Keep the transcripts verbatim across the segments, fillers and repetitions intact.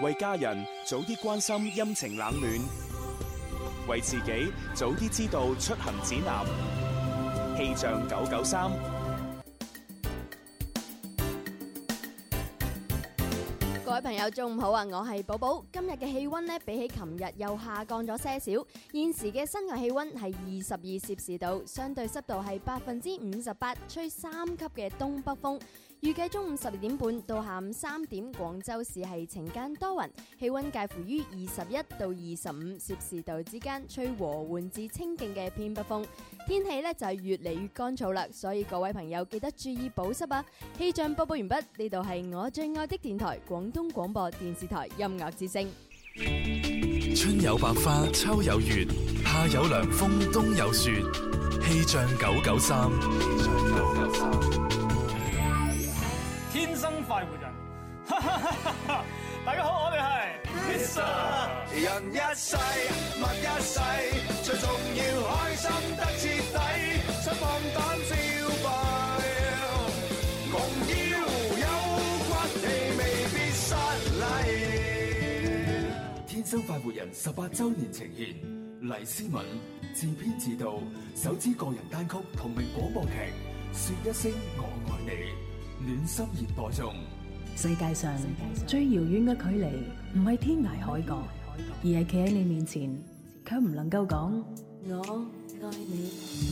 為家人早啲關心陰晴冷暖，為自己早啲知道出行指南。氣象九九三。 各位朋友，中午好啊！我係寶寶。今日嘅氣溫呢，比起琴日又下降咗些少。現時嘅室外氣溫係二十二攝氏度，相對濕度係百分之五十八，吹三級嘅東北風。預計中午十二點半到下午三點，廣州市係晴間多雲，氣溫介乎於二十一到二十五攝氏度之間，吹和緩至清勁嘅偏北風。天氣呢就係越嚟越乾燥啦，所以各位朋友記得注意保濕啊！氣象播報完畢，呢度係我最愛的電台——廣東廣播電視台音樂之聲。 春有百花，秋有月，夏有涼風，冬有雪。氣象九九三。 天生快活人，大家好，我哋係 Mr 人一世物一世，最重要開心得徹底，想放膽消費，共邀有骨氣未必失禮。 天生快活人十八周年呈現，黎思敏自編自導首支個人單曲同名廣播劇《說一聲我愛你》。暖心熱播中， 世界上最遙遠嘅距離，唔係天涯海角，而係企喺你面前，卻唔能夠講我愛你。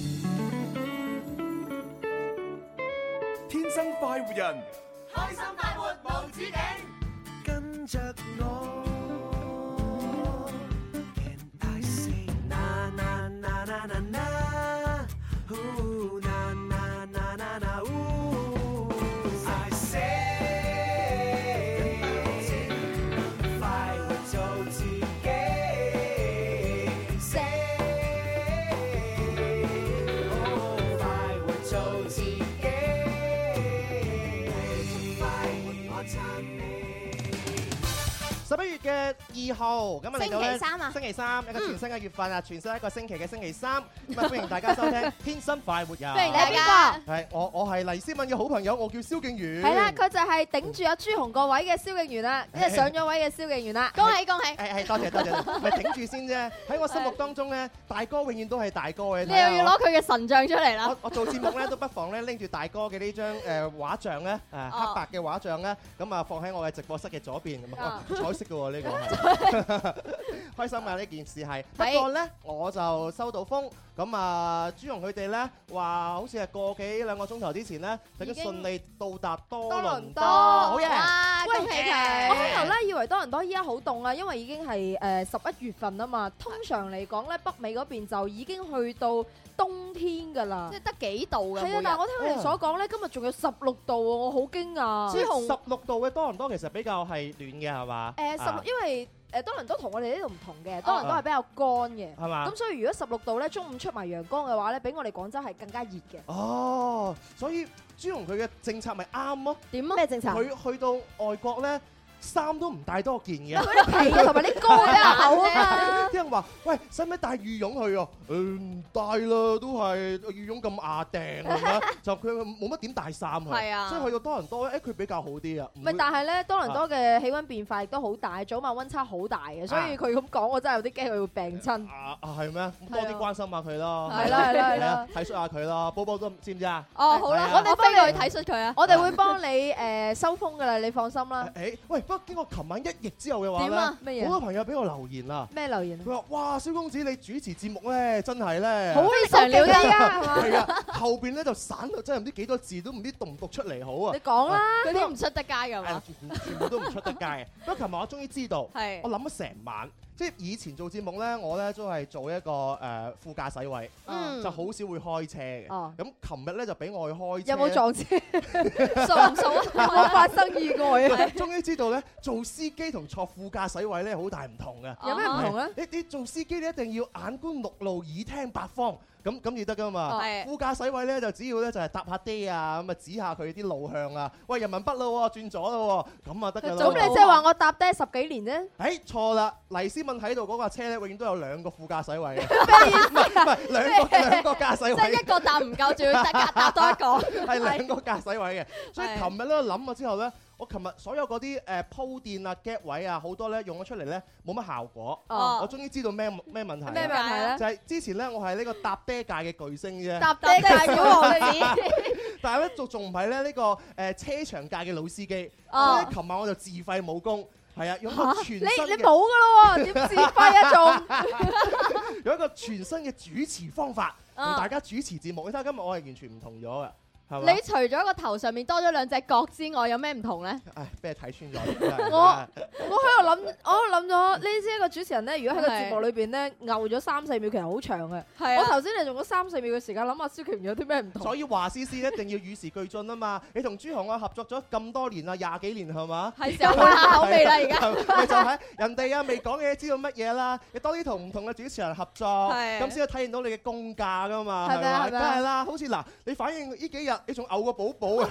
天生快活人， 開心快活無止境， 跟着我。Can I say na na na na na na? Ooh, na na na na na ooh. 十一月嘅二號，咁啊嚟到咧， 星期三啊， 星期三一個全新嘅月份啊，全新一個星期嘅星期三，咁啊歡迎大家收聽《天生快活人》。 歡迎你係邊個？ 係我，我係黎思敏嘅好朋友，我叫蕭敬元。 係啦，佢就係頂住阿朱紅個位嘅蕭敬元啦，即係上咗位嘅蕭敬元啦。恭喜恭喜！ 係係多謝多謝，咪頂住先啫。喺我心目當中咧，大哥永遠都係大哥嘅。 你又要攞佢嘅神像出嚟啦！ 我我做節目咧都不妨咧拎住大哥嘅呢張誒畫像咧，誒黑白嘅畫像咧，咁啊放喺我嘅直播室嘅左邊咁啊，彩色嘅喎呢個係。開心啊！呢件事係，不過咧我就收到風，咁啊朱紅佢哋咧話好似係個幾兩個鐘頭之前咧，就已經順利到達多倫多，好嘢！ 恭喜佢！我開頭咧以為多倫多依家好凍啊，因為已經係誒十一月份啊嘛。通常嚟講咧，北美嗰邊就已經去到冬天㗎啦， 即係得幾度㗎？ 係啊，但係我聽佢哋所講咧，今日仲有十六度喎，我好驚訝。 朱紅十六度嘅多倫多其實比較係暖嘅係嘛？ 誒十六，因為誒多倫多同我哋呢度唔同嘅，多倫多係比較乾嘅， 係嘛？ 咁所以如果十六度咧，中午出埋陽光嘅話咧，比我哋廣州係更加熱嘅。 哦，所以朱紅佢嘅政策咪啱咯？ 點啊？咩政策？ 佢去到外國咧，衫都唔帶多件嘅。 佢啲皮啊，同埋啲歌比較厚啊嘛。 啲人話：喂，使唔使帶羽絨去啊？誒唔帶啦，都係羽絨咁牙掟係咪？就佢冇乜點帶衫去。 係啊。 所以去到多倫多咧，誒佢比較好啲啊。 唔係，但係咧多倫多嘅氣温變化亦都好大，早晚温差好大嘅，所以佢咁講，我真係有啲驚佢會病親。 啊啊係咩？多啲關心下佢咯。 係啦係啦係啦， 體恤下佢咯。波波都知唔知啊？ 哦好啦，我哋幫你去體恤佢啊。我哋會幫你誒收風㗎啦，你放心啦。 誒喂，不過經過琴晚一役之後嘅話點啊？咩嘢？ 好多朋友俾我留言啦。 咩留言啊？ 佢話：哇，蕭公子你主持節目咧，真係咧， 好非常了得啊！ 係啊，後邊咧就散到真係唔知幾多字，都唔知讀唔讀出嚟好啊！ 你講啦， 嗰啲唔出得街㗎嘛？ 全部都唔出得街嘅。不過琴日我終於知道，我諗咗成晚。即係以前做節目咧，我咧都係做一個誒副駕駛位，就好少會開車嘅。咁琴日咧就俾我去開車， 有冇撞車？數唔數啊？有冇發生意外啊？ 終於知道咧，做司機同坐副駕駛位咧好大唔同嘅。 有咩唔同咧？ 你你做司機你一定要眼觀六路，耳聽八方。咁咁至得噶嘛？副駕駛位咧就只要咧就係搭下爹啊，咁啊指下佢啲路向啊。喂，人民北咯，轉左咯，咁啊得㗎啦。 咁你即係話我搭爹十幾年啫？ 誒錯啦，黎思敏喺度嗰架車咧，永遠都有兩個副駕駛位嘅。唔係唔係兩個兩個駕駛位。 即係一個搭唔夠，仲要搭搭多一個。 係兩個駕駛位嘅，所以琴日咧諗咗之後咧， 我琴日所有嗰啲誒鋪墊啊、gap 位啊，好多咧用咗出嚟咧冇乜效果。 哦我終於知道咩咩問題。 咩問題咧？ 就係之前咧，我係呢個搭爹界嘅巨星啫。 搭爹界小王子。 但係咧，仲仲唔係咧呢個誒車場界嘅老司機。 哦。 所以琴晚我就自費武功。係啊，用個全新嘅。 你你冇㗎咯喎，點自費啊仲？ 有一個全新嘅主持方法，同大家主持節目。你睇下今日我係完全唔同咗嘅。 你除咗個頭上面多咗兩隻角之外，有咩唔同咧？ 唉，俾你睇穿咗。 我我喺度諗，我喺度諗咗呢啲一個主持人咧，如果喺個節目裏邊咧，牛咗三四秒，其實好長嘅。 係啊。 我頭先你用咗三四秒嘅時間諗下蕭瓊有啲咩唔同。 所以華思思一定要與時俱進啊嘛！你同朱紅啊合作咗咁多年啦，廿幾年係嘛？ 係時候換下口味啦，而家。 咪就係人哋啊未講嘅嘢知道乜嘢啦？你多啲同唔同嘅主持人合作，咁先可以體現到你嘅功架噶嘛？係咪？梗係啦，好似嗱，你反應呢幾日你仲嘔個寶。寶啊！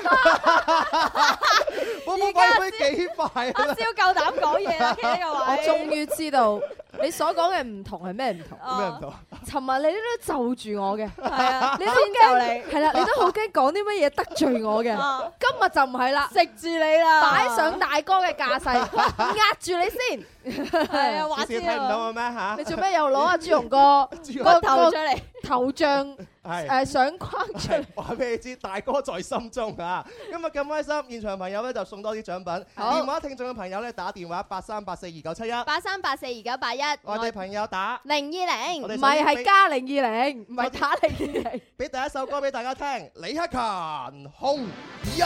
寶寶講得幾快啊！ 阿蕭夠膽講嘢啦，企呢個位。 我終於知道你所講嘅唔同係咩唔同？ 咩唔同？ 尋日你都就住我嘅， 係啊， 你都驚係啦，你都好驚講啲乜嘢得罪我嘅。今日就唔係啦， 食住你啦， 擺上大哥嘅架勢，壓住你先。 係啊，話知睇唔到我咩嚇？ 你做咩又攞阿朱紅個個頭出嚟？ 頭像誒相框出嚟， 話俾你知，大哥在心中啊！今日咁開心，現場朋友咧就送多啲獎品。電話聽眾嘅朋友咧打電話八三八四二九七一， 八三八四二九八一。 外地朋友打零二零， 唔係係加零二零，唔係打零二零。 俾第一首歌俾大家聽，李克勤《紅日》。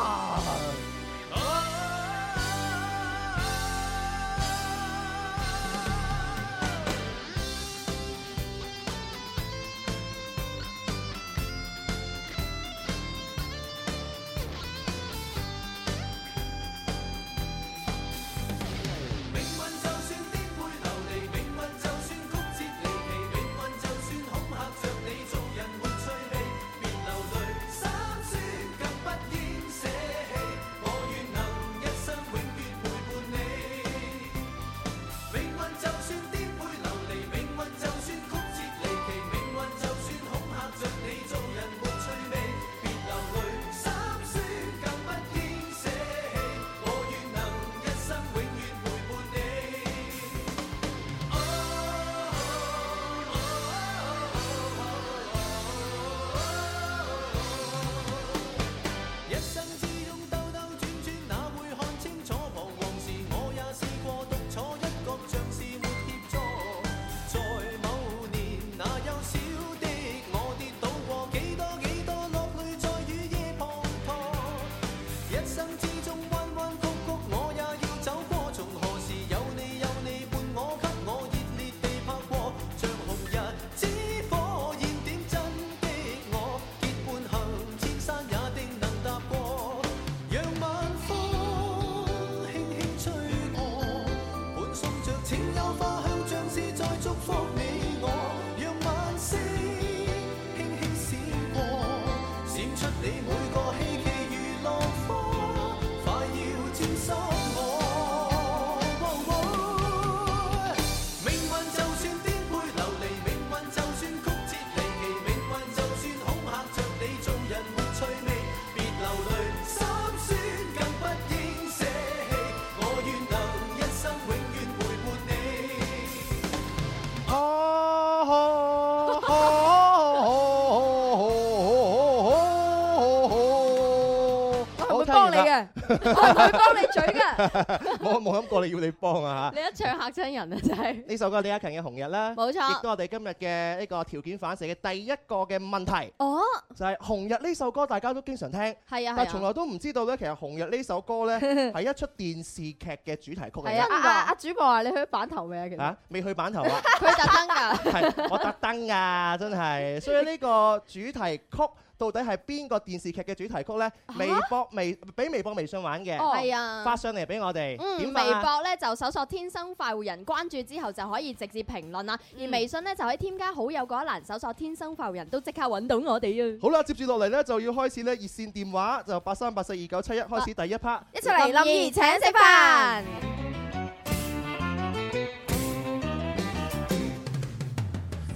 我唔會幫你嘴嘅， 我冇諗過你要你幫啊嚇！ 你一唱嚇親人啊，真係！ 呢首歌李克勤嘅《紅日》啦， 冇錯， 亦都我哋今日嘅呢個條件反射嘅第一個嘅問題。 哦， 就係《紅日》呢首歌，大家都經常聽， 係啊， 但係從來都唔知道咧，其實《紅日》呢首歌咧係一出電視劇嘅主題曲嚟嘅。 係啊，阿阿主播話你去版頭未啊？其實啊，未去版頭啊， 佢特登㗎， 係我特登㗎，真係。所以呢個主題曲到底係邊個電視劇嘅主題曲咧？微博、微俾微博、微信玩嘅， 係啊， 發上嚟俾我哋。 嗯，微博咧就搜索天生快活人，關注之後就可以直接評論啦。而微信咧就喺添加好友嗰一欄搜索天生快活人，都即刻揾到我哋啊！ 好啦，接住落嚟咧就要開始咧熱線電話，就八三八四二九七一開始第一 part， 一齊嚟林兒請食飯。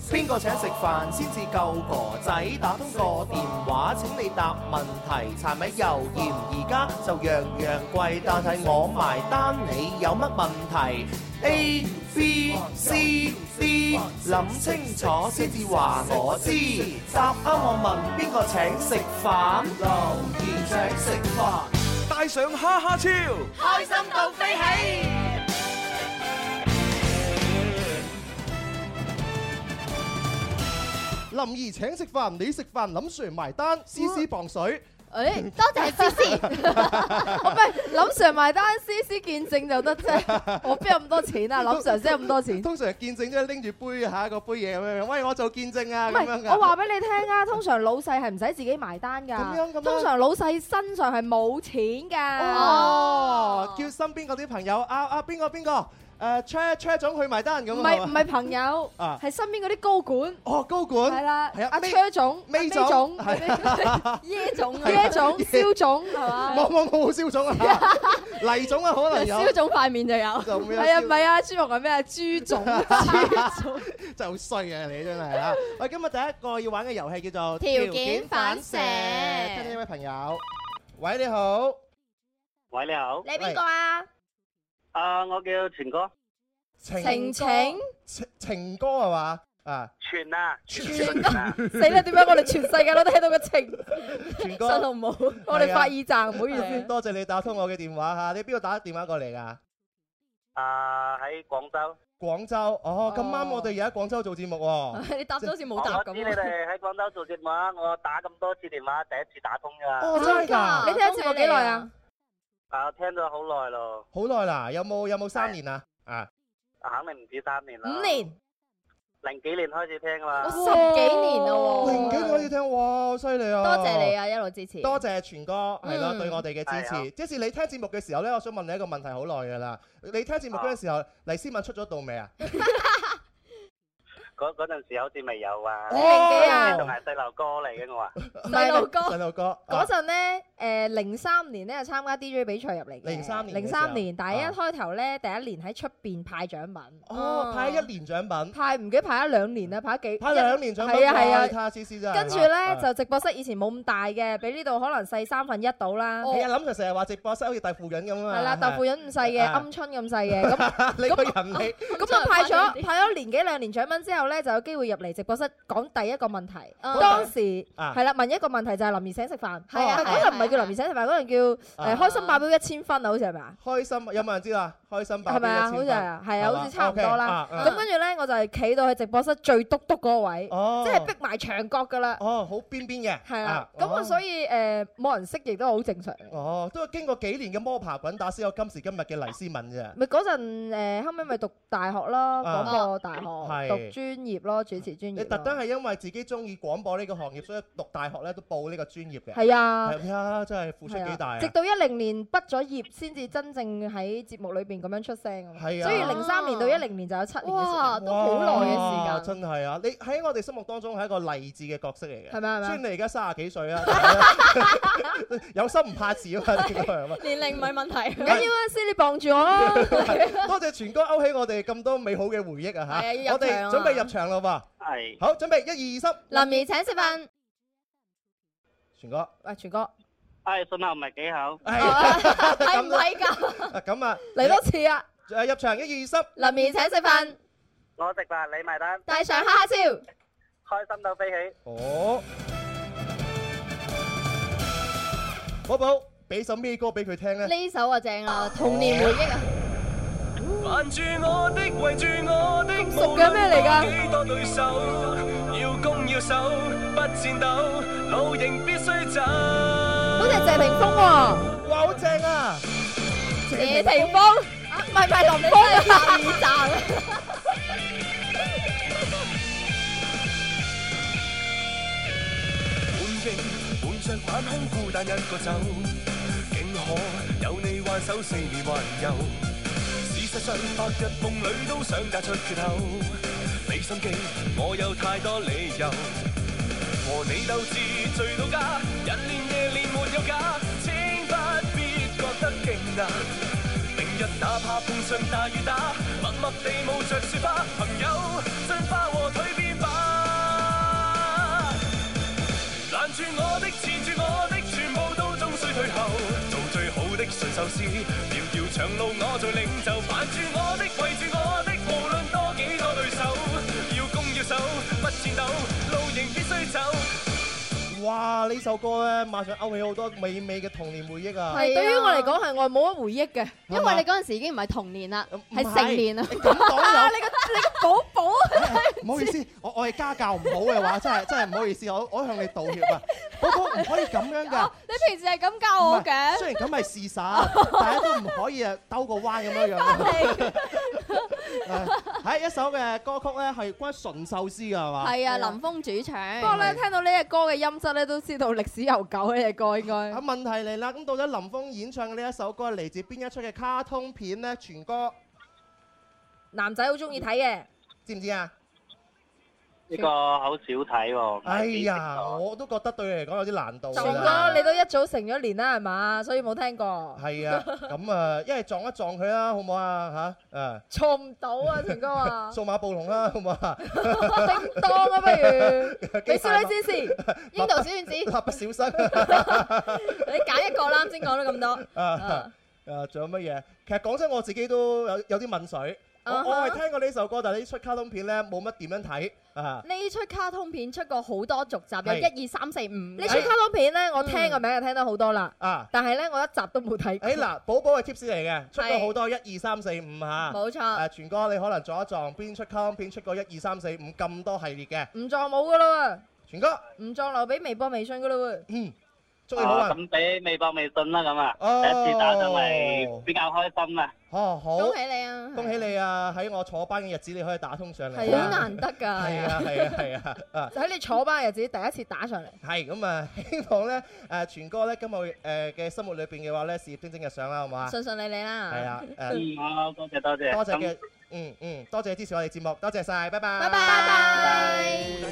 邊個請食飯先至夠哥仔？打通個電話請你答問題。柴米油鹽而家就樣樣貴，但係我埋單，你有乜問題？A B C D， 諗清楚先至話我知。答啱我問邊個請食飯？留言請食飯， 帶上哈哈超， 開心到飛起。 林兒請食飯，你食飯，林 Sir 埋單，思思磅水。 誒，多謝思思。 唔係林 Sir 埋單，思思見證就得啫。我邊有咁多錢啊？林 Sir 先有咁多錢。 通常見證都係拎住杯下一個杯嘢咁樣，喂，我做見證啊唔咁樣㗎。 係，我話俾你聽啊，通常老細係唔使自己埋單㗎。 咁樣咁樣通常老細身上係冇錢㗎。 哦，叫身邊嗰啲朋友啊啊邊個邊個？誒車車總去埋單咁。 唔係唔係朋友， 啊係身邊嗰啲高管。 哦，高管。 係啦， 係啊， 阿車總、 尾總、 總耶總、耶總、蕭總係嘛？ 冇冇冇蕭總啊，黎總啊可能有。 蕭總塊面就有。 係啊，唔係啊，朱紅係咩啊？朱總。朱總真係好衰啊！你真係啊！喂，今日第一個要玩嘅遊戲叫做條件反射。 聽聽呢位朋友，喂你好， 喂你好， 你邊個啊？ 啊，我叫全哥。 晴晴情情歌係嘛？啊， 全啊， 全啊！死啦！點解我哋全世界都聽到個晴？ 全哥， 信號唔好，我哋發耳罩，唔好意思。 多謝你打通我嘅電話嚇，你邊度打電話過嚟㗎？ 啊，喺廣州。 廣州，哦，咁啱我哋而家喺廣州做節目喎。 你答咗好似冇答咁。 我知你哋喺廣州做節目啊，我打咁多次電話，第一次打通㗎。 哦，真係㗎！ 你聽節目幾耐啊？ 啊，聽咗好耐咯。 好耐啦，有冇有冇三年啊？啊， 肯定唔止三年啦。 五年。 零幾年開始聽啦。 十幾年咯。 零幾年開始聽，哇，好犀利啊！ 多謝你啊，一路支持。 多謝全哥，係咯， 嗯對我哋嘅支持。即是你聽節目嘅時候咧，我想問你一個問題好耐㗎啦。你聽節目嗰陣時候，黎思敏出咗道未啊？ 嗰嗰陣時好似未有啊。 你零幾啊？ 仲係細路哥嚟嘅我話。 細路哥。 細路哥。 嗰陣咧，誒零三年咧就參加 D J 比賽入嚟嘅。 零三年。 零三年，但係一開頭咧，第一年喺出邊派獎品。 哦，派一年獎品。 派唔記得派咗兩年啦，派咗幾？ 派兩年獎品。 係啊係啊。 睇下思思真係。 跟住咧就直播室以前冇咁大嘅，比呢度可能細三分一到啦。 係啊，諗就成日話直播室好似豆腐潤咁啊。 係啦，豆腐潤咁細嘅，鵪鶉咁細嘅。咁你個人你。 咁就派咗派咗年幾兩年獎品之後咧，就有機會入嚟直播室講第一個問題。當時係啦，問一個問題就係林兒請食飯。係啊，嗰陣唔係叫林兒請食飯，嗰陣叫誒開心爆表一千分啊，好似係咪啊？ 開心有冇人知啊？開心爆表一千分。係咪啊？ 好似係啊，係啊，好似差唔多啦。咁跟住咧，我就係企到去直播室最篤篤嗰個位，即係逼埋牆角㗎啦。 哦，好邊邊嘅。 係啊。咁啊，所以誒冇人識亦都好正常。 哦，都係經過幾年嘅摸爬滾打先有今時今日嘅黎思敏啫。 咪嗰陣誒後尾咪讀大學咯，廣播大學讀專業咯，主持專業。 你特登係因為自己中意廣播呢個行業，所以讀大學咧都報呢個專業嘅。 係啊， 係啊，真係付出幾大啊！ 直到一零年畢咗業，先至真正喺節目裏邊咁樣出聲。 係啊， 所以零三年到一零年就有七年嘅時間。 哇，都好耐嘅時間。 真係啊！你喺我哋心目當中係一個勵志嘅角色嚟嘅。 係咪係咪？ 雖然你而家三十幾歲啊，有心唔怕遲啊嘛，呢個係嘛？ 年齡唔係問題。 唔緊要啊，師你傍住我啦。 多謝全哥勾起我哋咁多美好嘅回憶啊！嚇，我哋準備入場啦噃。 係。 好，準備一二三。 林兒請食飯。 全哥， 喂，全哥。 係信號唔係幾好。 係唔係㗎？ 咁啊， 嚟多次啊！ 誒入場一二三。 林兒請食飯。 我食飯你埋單。 帶上哈哈超。 開心到飛起。 哦。寶寶，俾首咩歌俾佢聽咧？ 呢首啊正啊，童年回憶啊！ 煩住我的，圍住我的， 咁熟嘅咩嚟㗎？ 幾多對手，要攻要守，不戰鬥，路仍必須走。 好似係謝霆鋒喎， 哇，好正啊！ 謝霆鋒，唔係唔係林峯啊！二站。 滿勁滿着反空，孤單一個走，竟可有你挽手四面環遊。事實上，白日夢裏都想嫁出缺口，俾心機，我有太多理由。和你鬥智醉到家，日練夜練沒有假，請不必覺得驚訝。明日哪怕碰上大雨打，默默地冒着雪花，朋友進化和蛻變吧。 事，條條長路我做領袖，扮住我的圍住我的，無論多幾個對手，要攻要守，不戰鬥，路仍必須走。 哇！呢首歌咧，馬上勾起好多美美嘅童年回憶啊！ 係對於我嚟講係我冇乜回憶嘅， 因為你嗰陣時已經唔係童年啦，係成年啦。 咁講有你個你個寶寶， 唔好意思，我我係家教唔好嘅話，真係真係唔好意思，我我向你道歉啊！寶寶唔可以咁樣㗎。 你平時係咁教我嘅。 雖然咁係事實，大家都唔可以誒兜個彎咁樣樣。係一首嘅歌曲咧，係關純壽司㗎係嘛？ 係啊，林峰主唱。 不過咧，聽到呢隻歌嘅音質咧，都知道歷史悠久呢隻歌應該。 啊，問題嚟啦，咁到底林峰演唱嘅呢一首歌係嚟自邊一出嘅卡通片咧？全哥男仔好中意睇嘅， 知唔知啊？ 呢個好少睇喎。 哎呀，我都覺得對你嚟講有啲難度。 全哥你都一早成咗年啦係嘛，所以冇聽過。 係啊，咁啊，一係撞一撞佢啦，好唔好啊？嚇，誒， 撞唔到啊，全哥話。 數碼暴龍啦，好唔好啊？ 叮當啊，不如。你少女戰士， 櫻桃小丸子， 蠟筆小新。 你揀一個啦，先講咗咁多。 啊啊，仲有乜嘢？其實講真，我自己都有有啲抿水。我我係聽過呢首歌，但係呢出卡通片咧冇乜點樣睇啊！ 呢出卡通片出過好多續集，有一二三四五。 呢出卡通片咧，我聽個名就聽得好多啦。啊！但係咧，我一集都冇睇過。 誒嗱，寶寶係 tips 嚟嘅，出過好多一二三四五嚇。 冇錯。 誒，全哥你可能撞一撞邊出卡通片出過一二三四五咁多系列嘅？ 唔撞冇噶啦喎。 全哥唔撞留俾微博微信噶啦喎。 嗯。祝你好運。 咁俾微博微信啦，咁啊，第一次打上嚟比較開心啊！ 哦，好， 恭喜你啊！ 恭喜你啊！喺我坐班嘅日子，你可以打通上嚟， 係好難得㗎。 係啊，係啊，係啊！啊， 就喺你坐班嘅日子，第一次打上嚟。 係咁啊！希望咧誒，全哥咧今日誒嘅生活裏邊嘅話咧，事業蒸蒸日上啦，好唔好啊？ 順順利利啦。 係啊， 誒，好多謝多謝。 多謝嘅，嗯嗯，多謝支持我哋節目，多謝晒，拜拜。 拜拜。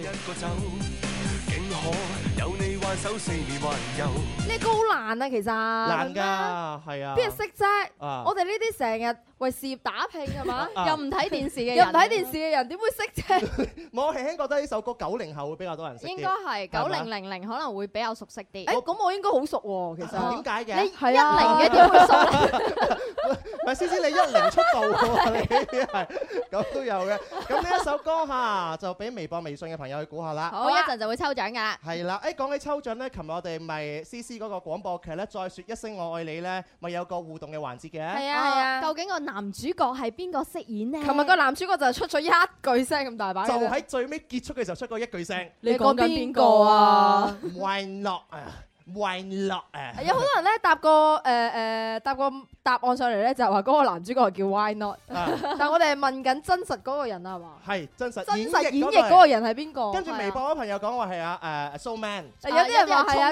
呢歌好難啊，其實難㗎，係啊， 邊人識啫？我哋呢啲成日為事業打拼係嘛， 又唔睇電視嘅人， 又唔睇電視嘅人點會識啫？ 我輕輕覺得呢首歌九零後會比較多人識啲， 應該係九零零零可能會比較熟悉啲。 誒，咁我應該好熟喎，其實點解嘅？ 你一零嘅點會熟咧？ 唔係思思，你一零出道喎，你係咁都有嘅。咁呢一首歌嚇就俾微博、微信嘅朋友去估下啦。 好，一陣就會抽獎㗎啦。 係啦，誒講起抽獎咧，琴日我哋咪思思嗰個廣播劇咧，再説一聲我愛你咧，咪有個互動嘅環節嘅。 係啊係啊，究竟個男主角係邊個飾演呢？ 琴日個男主角就係出咗一句聲咁大把， 就喺最尾結束嘅時候出過一句聲。 你講緊邊個啊 ？Why not 啊？Why not 啊？ 有好多人咧答個誒誒答個答案上嚟咧，就係話嗰個男主角叫 Why not？但係我哋係問緊真實嗰個人啊嘛。 係真實真實演繹嗰個人係邊個？ 跟住微博嗰朋友講話係啊誒 So Man。 有啲人話係啊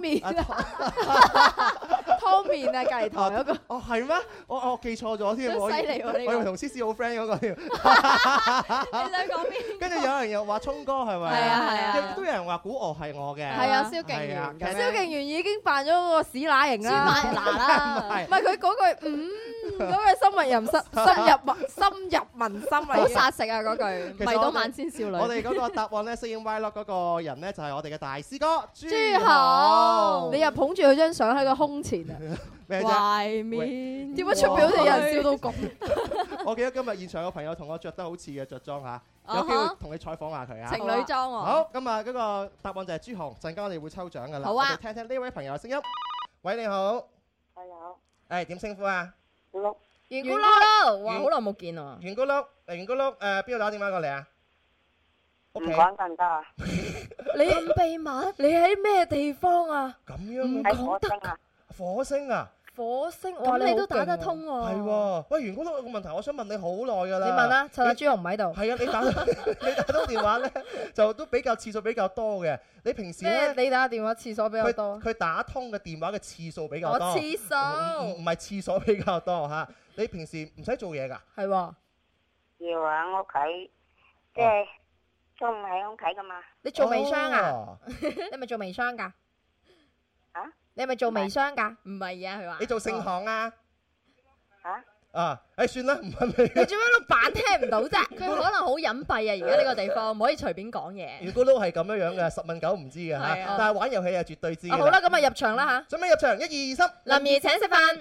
Tommy。Tommy 啊，隔離台嗰個。 哦係咩？我我記錯咗添。 犀利喎呢個。 我以為同思思好 friend 嗰個添。 你想講邊？ 跟住有人又話聰哥係咪？ 係啊係啊。 亦都有人話古鵝係我嘅。 係啊，蕭敬元。 蕭敬元已經扮咗嗰個屎乸型啦。 屎乸啦。 唔係佢嗰句嗯嗰句深入人心，深入民深入民心啊！ 好殺食啊嗰句。迷倒萬千少女。 我哋嗰個答案咧，飾演 Y Lock 嗰個人咧，就係我哋嘅大師哥朱豪。 你又捧住佢張相喺個胸前啊！ 咩啫？ 懷面點解出邊好似有人笑到咁？ 我記得今日現場有朋友同我着得好似嘅着裝嚇，有機會同你採訪下佢啊！ 情侶裝喎。 好，咁啊嗰個答案就係朱紅，陣間我哋會抽獎噶啦。 好啊！ 我哋聽聽呢位朋友嘅聲音。喂，你好。 係有。 誒點稱呼啊？ 碌。 圓咕碌，哇！好耐冇見喎。 圓咕碌，圓咕碌，誒邊度打電話過嚟啊？ 唔講得唔得啊？ 你咁秘密？你喺咩地方啊？ 咁樣喺火星啊！ 火星啊！ 火星，哇！你都打得通喎。 係喎，喂，圓咕碌有個問題，我想問你好耐㗎啦。 你問啦，趁阿朱紅唔喺度。 係啊，你打你打通電話咧，就都比較次數比較多嘅。你平時咧， 你打電話次數比較多。 佢打通嘅電話嘅次數比較多。 我次數。 唔係次數比較多嚇。你平時唔使做嘢㗎？ 係喎。 要喺屋企，即係中午喺屋企㗎嘛。 你做微商啊？你咪做微商㗎？ 啊？ 你係咪做微商㗎？ 唔係啊，佢話。 你做聖行啊？ 嚇？ 啊！誒算啦，唔問你。 你做咩喺度扮聽唔到啫？ 佢可能好隱蔽啊！而家呢個地方唔可以隨便講嘢。 如果都係咁樣樣嘅，十問九唔知嘅嚇。但係玩遊戲係絕對知嘅。 好啦，咁啊入場啦嚇。 準備入場，一二三。 林兒請食飯。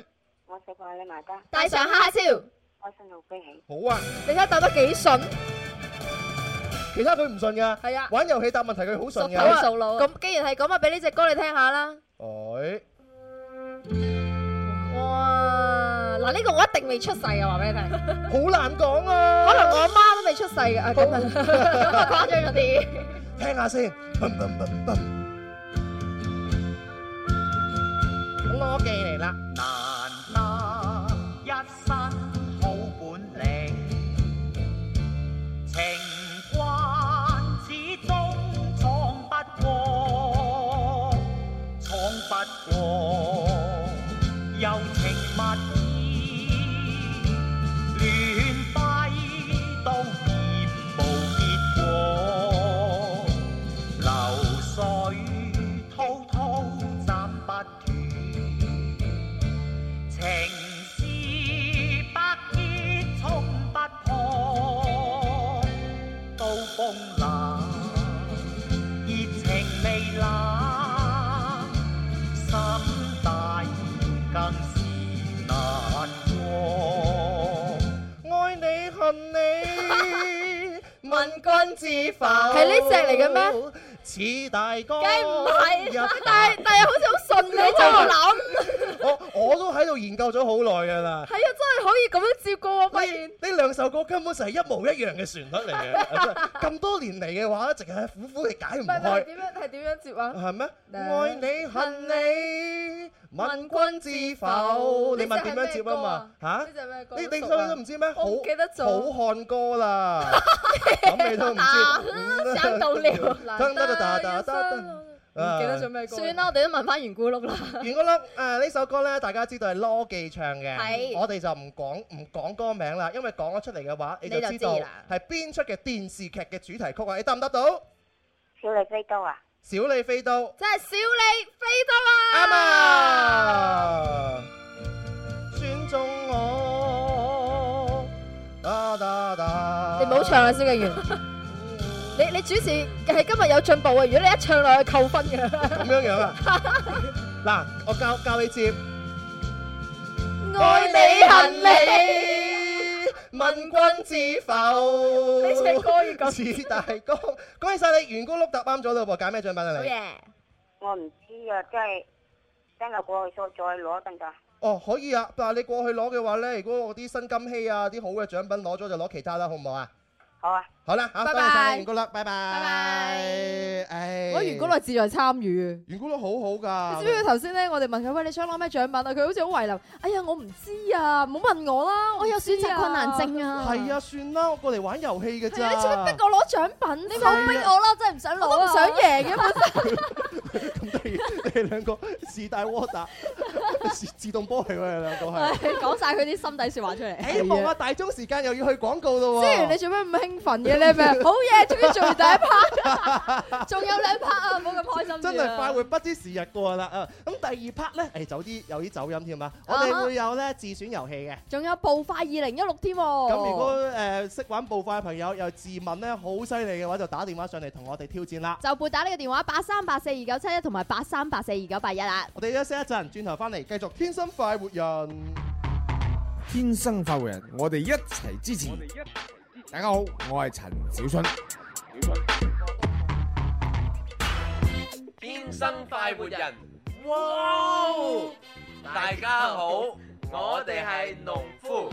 我食飯你埋單。 帶上蝦超， 開心到飛起。 好啊， 你睇下答得幾順。 其他佢唔順㗎。 係啊， 玩遊戲答問題佢好順㗎。 好啊，咁既然係咁啊，俾呢隻歌你聽下啦。 哎， 哇！嗱，呢個我一定未出世嘅，話俾你聽。 好難講啊。 可能我阿媽都未出世嘅，啊咁啊，咁啊誇張咗啲。 聽下先。攞記嚟啦。 難得一身好本領，情關始終闖不過，闖不過柔情蜜意，亂揮都嫌無結果，流水滔滔斬不斷。情是百結衝不破，刀鋒冷，熱情未冷，心大更是難過。 愛你恨你，問君知否？ 係呢隻嚟嘅咩？ 似大哥， 梗唔係，但係但係好似好順嘅，你就諗。 我我都喺度研究咗好耐㗎啦。 係啊，真係可以咁樣接歌喎！發現呢兩首歌根本就係一模一樣嘅旋律嚟嘅。咁多年嚟嘅話，一直係苦苦地解唔開。 係點樣？係點樣接啊？ 係咩？愛你恨你，問君知否？你問點樣接啊嘛？嚇？ 呢隻咩歌？ 你你所以都唔知咩？好記得咗。 好漢歌啦，咁你都唔知。 想到了。 得得得得得， 唔記得咗咩歌？算啦，我哋都問翻圓咕碌啦。 圓咕碌誒呢首歌咧，大家知道係羅記唱嘅， 係我哋就唔講唔講歌名啦，因為講咗出嚟嘅話，你就知道係邊出嘅電視劇嘅主題曲啊！你答唔答到？ 小李飛刀啊！ 小李飛刀， 即係小李飛刀啊！ 啱啊！選中我，噠噠噠。 你唔好唱啦，蕭敬元。你你主持係今日有進步啊！如果你一唱落去扣分嘅。 咁樣樣啊！嗱，我教教你接。 愛你恨你， 問君知否？ 呢隻歌要咁。 似大哥，恭喜晒你，圓咕碌答啱咗啦噃！揀咩獎品啊你？ 好嘢！ 我唔知啊，即係真係過去再再攞得唔得？ 哦，可以啊！但係你過去攞嘅話咧，如果我啲新金禧啊、啲好嘅獎品攞咗，就攞其他啦，好唔好啊？ 好啊！ 好啦，好，多謝晒你圓咕碌，拜拜。拜拜。 唉， 我圓咕碌志在參與啊！ 圓咕碌好好㗎。 你知唔知頭先咧？我哋問佢喂，你想攞咩獎品啊？佢好似好為難。哎呀，我唔知啊，唔好問我啦，我有選擇困難症啊。 係啊，算啦，我過嚟玩遊戲嘅咋。 你做咩逼我攞獎品？你冇逼我啦，真係唔想攞啊！我都唔想贏嘅本身。 咁你你哋兩個自帶窩打，自自動波嚟喎，你兩個係。 講晒佢啲心底説話出嚟。 希望啊，大鐘時間又要去廣告咯喎。 之前你做咩咁興奮嘅咧？咩？好嘢，終於做完第一 part， 仲有兩 part 啊！唔好咁開心。 真係快活不知時日過啦啊！咁第二 part 咧，誒，有啲有啲走音添啊！我哋會有咧自選遊戲嘅， 仲有步快二零一六添。咁如果誒識玩步快嘅朋友又自問咧好犀利嘅話，就打電話上嚟同我哋挑戰啦。 就撥打呢個電話八三八四二九七一同埋八三八四二九八一啦。 我哋休息一陣，轉頭翻嚟繼續天生快活人。 天生快活人，我哋一齊支持。大家好，我係陳小春。 天生快活人，哇！大家好，我哋係農夫。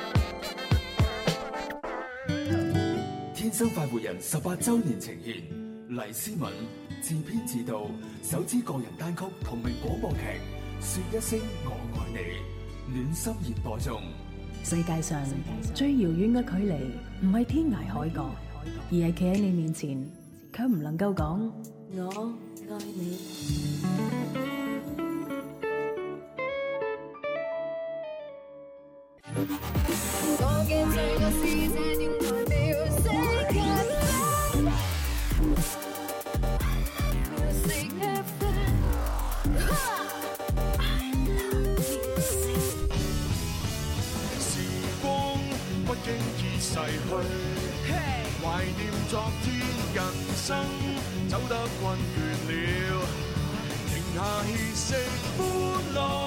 天生快活人十八周年呈現，黎思敏自編自導首支個人單曲同名廣播劇《說一聲我愛你》，暖心熱播中。 世界上最遙遠嘅距離，唔係天涯海角，而係企喺你面前，卻唔能夠講我愛你。 我嘅最愛是這電台Music F M。 不經已逝去，懷念昨天，人生走得困倦了，停下歇息，歡樂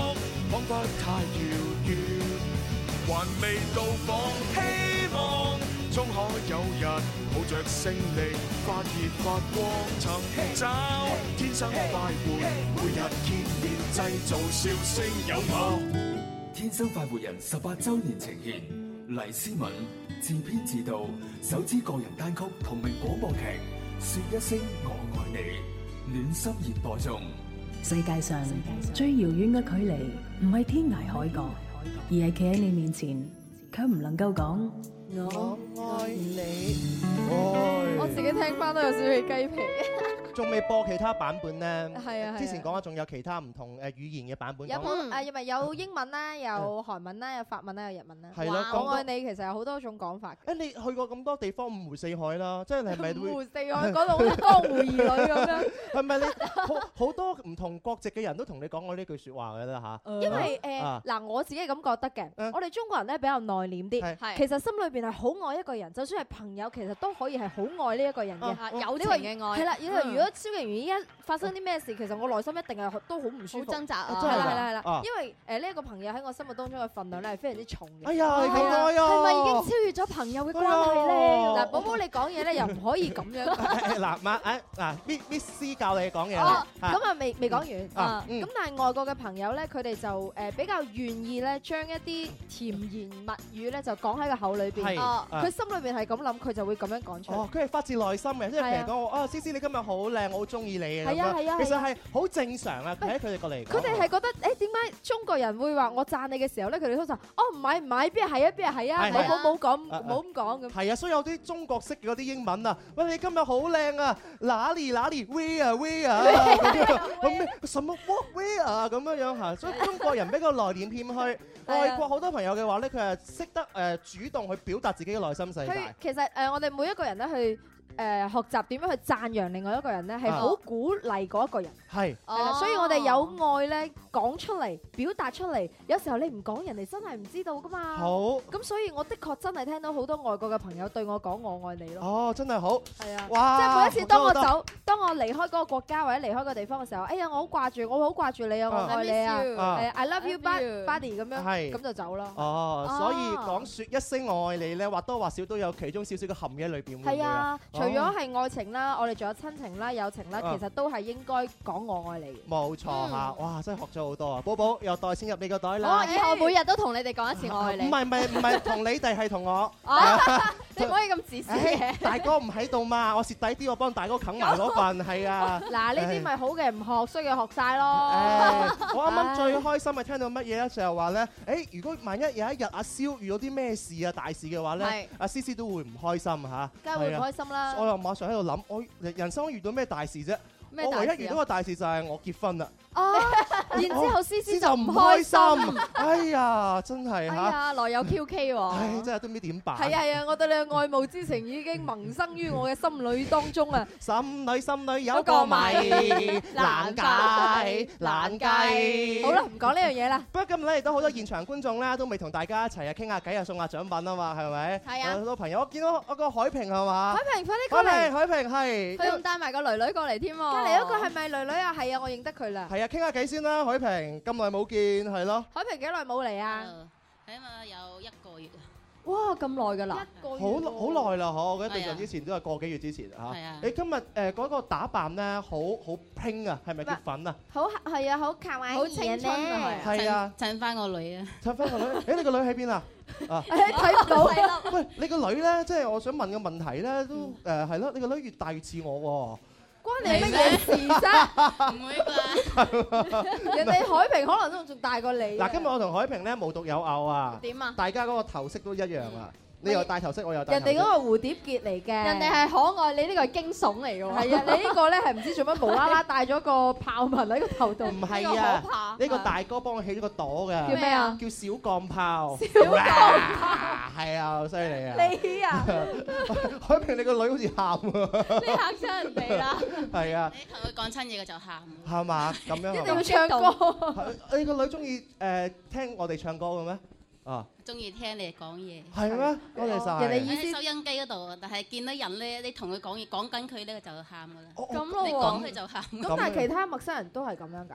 彷彿太遙遠，還未到訪，希望終可有日抱着勝利發熱發光，尋找天生快活，每日見面製造笑聲有我。 天生快活人十八週年呈現，黎思敏自編自導首支個人單曲同名廣播劇《說一聲我愛你》，暖心熱播中。 世界上最遙遠嘅距離，唔係天涯海角，而係企喺你面前，卻唔能夠講我愛你。 我自己聽翻都有少少起雞皮。 仲未播其他版本咧？ 係啊， 之前講咗仲有其他唔同誒語言嘅版本。 有冇誒？咪有英文啦，有韓文啦，有法文啦，有日文啦。 係咯， 我愛你其實有好多種講法。 誒，你去過咁多地方，五湖四海啦，即係你係咪會？ 五湖四海嗰度好似江湖兒女咁樣。 係咪你好好多唔同國籍嘅人都同你講過呢句説話嘅啦嚇？ 因為誒嗱，我自己係咁覺得嘅。我哋中國人咧比較內斂啲，其實心裏邊係好愛一個人，就算係朋友，其實都可以係好愛呢一個人嘅。 友情嘅愛。 係啦，因為如果蕭敬元依家發生啲咩事，其實我內心一定係都好唔舒服， 好掙扎啊！ 係啦係啦係啦，因為誒呢一個朋友喺我心目當中嘅份量咧係非常之重嘅。 哎呀，係啊， 係咪已經超越咗朋友嘅關係咧？ 嗱，寶寶你講嘢咧又唔可以咁樣。 嗱，媽誒嗱，Miss Miss 教你講嘢。 哦，咁啊未未講完啊。 咁但係外國嘅朋友咧，佢哋就誒比較願意咧將一啲甜言蜜語咧就講喺個口裏邊。哦，佢心裏邊係咁諗，佢就會咁樣講出嚟。 哦，佢係發自內心嘅，即係譬如講我啊，思思你今日好靚，我好中意你嘅。 係啊係啊， 其實係好正常啊，喺佢哋過嚟。 佢哋係覺得誒點解中國人會話我讚你嘅時候咧，佢哋通常哦唔係唔係，邊係係啊邊係係啊，冇冇冇講冇咁講咁。 係啊，所以有啲中國式嘅嗰啲英文啊，喂你今日好靚啊，哪裡哪裡 where where 咁咩什麼 what where 咁樣樣嚇，所以中國人比較內斂謙虛。外國好多朋友嘅話咧，佢係識得誒主動去表達自己嘅內心世界。 其實誒，我哋每一個人咧去。誒學習點樣去讚揚另外一個人咧，係好鼓勵嗰一個人。 係， 係啦，所以我哋有愛咧講出嚟，表達出嚟。有時候你唔講，人哋真係唔知道噶嘛。 好。 咁所以我的確真係聽到好多外國嘅朋友對我講我愛你咯。 哦，真係好。 係啊。 哇！ 即係每一次當我走，當我離開嗰個國家或者離開個地方嘅時候，哎呀，我好掛住，我好掛住你啊，我愛你啊，係 I love you, buddy 咁樣，咁就走咯。 哦，所以講説一聲我愛你咧，或多或少都有其中少少嘅含義喺裏邊。 係啊，除咗係愛情啦，我哋仲有親情啦、友情啦，其實都係應該講我愛你。 冇錯嚇，哇！真係學咗好多啊！寶寶又袋錢入你個袋啦。 我以後每日都同你哋講一次我愛你。 唔係唔係唔係，同你哋係同我。 你唔可以咁自私嘅。 大哥唔喺度嘛，我蝕底啲，我幫大哥啃埋嗰份，係啊。 嗱，呢啲咪好嘅唔學，衰嘅學曬咯。 我啱啱最開心係聽到乜嘢咧？就係話咧，誒，如果萬一有一日阿蕭遇到啲咩事啊、大事嘅話咧，阿思思都會唔開心嚇。 梗係會唔開心啦。 我又馬上喺度諗，我人生遇到咩大事啫？我唯一遇到個大事就係我結婚啦。 哦，然之後思思就唔開心。哎呀，真係嚇！ 哎呀，來有 Q K 喎。 唉，真係都唔知點辦。 係啊係啊，我對你嘅愛慕之情已經萌生於我嘅心裏當中啊！ 心裏心裏有個謎難解難計。 好啦，唔講呢樣嘢啦。 不過今日咧亦都好多現場觀眾咧，都未同大家一齊啊傾下偈啊，送下獎品啊嘛，係咪？ 係啊。 好多朋友，我見到我個海平係嘛？ 海平，快啲過嚟！ 海平，海平係。 佢仲帶埋個女女過嚟添喎。 隔離嗰個係咪女女啊？係啊，我認得佢啦。 係啊，傾下偈先啦，海平，咁耐冇見，係咯。 海平幾耐冇嚟啊？ 起碼有一個月啊！ 哇，咁耐㗎啦！ 一個月。 好好耐啦，嗬！我覺得對上之前都係個幾月之前嚇。 係啊。 你今日誒嗰個打扮咧，好好拼啊，係咪叫粉啊？ 好係啊，好卡哇伊， 好青春啊！ 係啊， 襯翻個女啊！ 襯翻個女，誒你個女喺邊啊？啊！ 睇唔到。 喂，你個女咧，即係我想問個問題咧，都誒係咯，你個女越大越似我喎。 關你乜嘢事啫？ 唔會啩？ 人哋海平可能都仲大過你。 嗱，今日我同海平咧無獨有偶啊！ 點啊？ 大家嗰個頭飾都一樣啊！你又戴頭飾，我又戴頭飾。 人哋嗰個蝴蝶結嚟嘅， 人哋係可愛，你呢個係驚悚嚟嘅喎。 係啊，你呢個咧係唔知做乜無啦啦戴咗個豹紋喺個頭度。 唔係啊，呢個大哥幫我起咗個朵嘅。 叫咩啊？ 叫小鋼炮。 小鋼炮。 係啊，好犀利啊！ 你啊， 海平，你個女好似喊喎。 你嚇親人哋啦。 係啊。 你同佢講親嘢佢就喊。 係嘛？咁樣。 一定要唱歌。 你個女中意誒聽我哋唱歌嘅咩？啊！ 中意聽你哋講嘢。 係咩？多謝曬。 人哋意思收音機嗰度，但係見到人咧，你同佢講嘢，講緊佢咧就喊噶啦。 咁咯喎。 你講佢就喊。 咁但係其他陌生人都係咁樣㗎？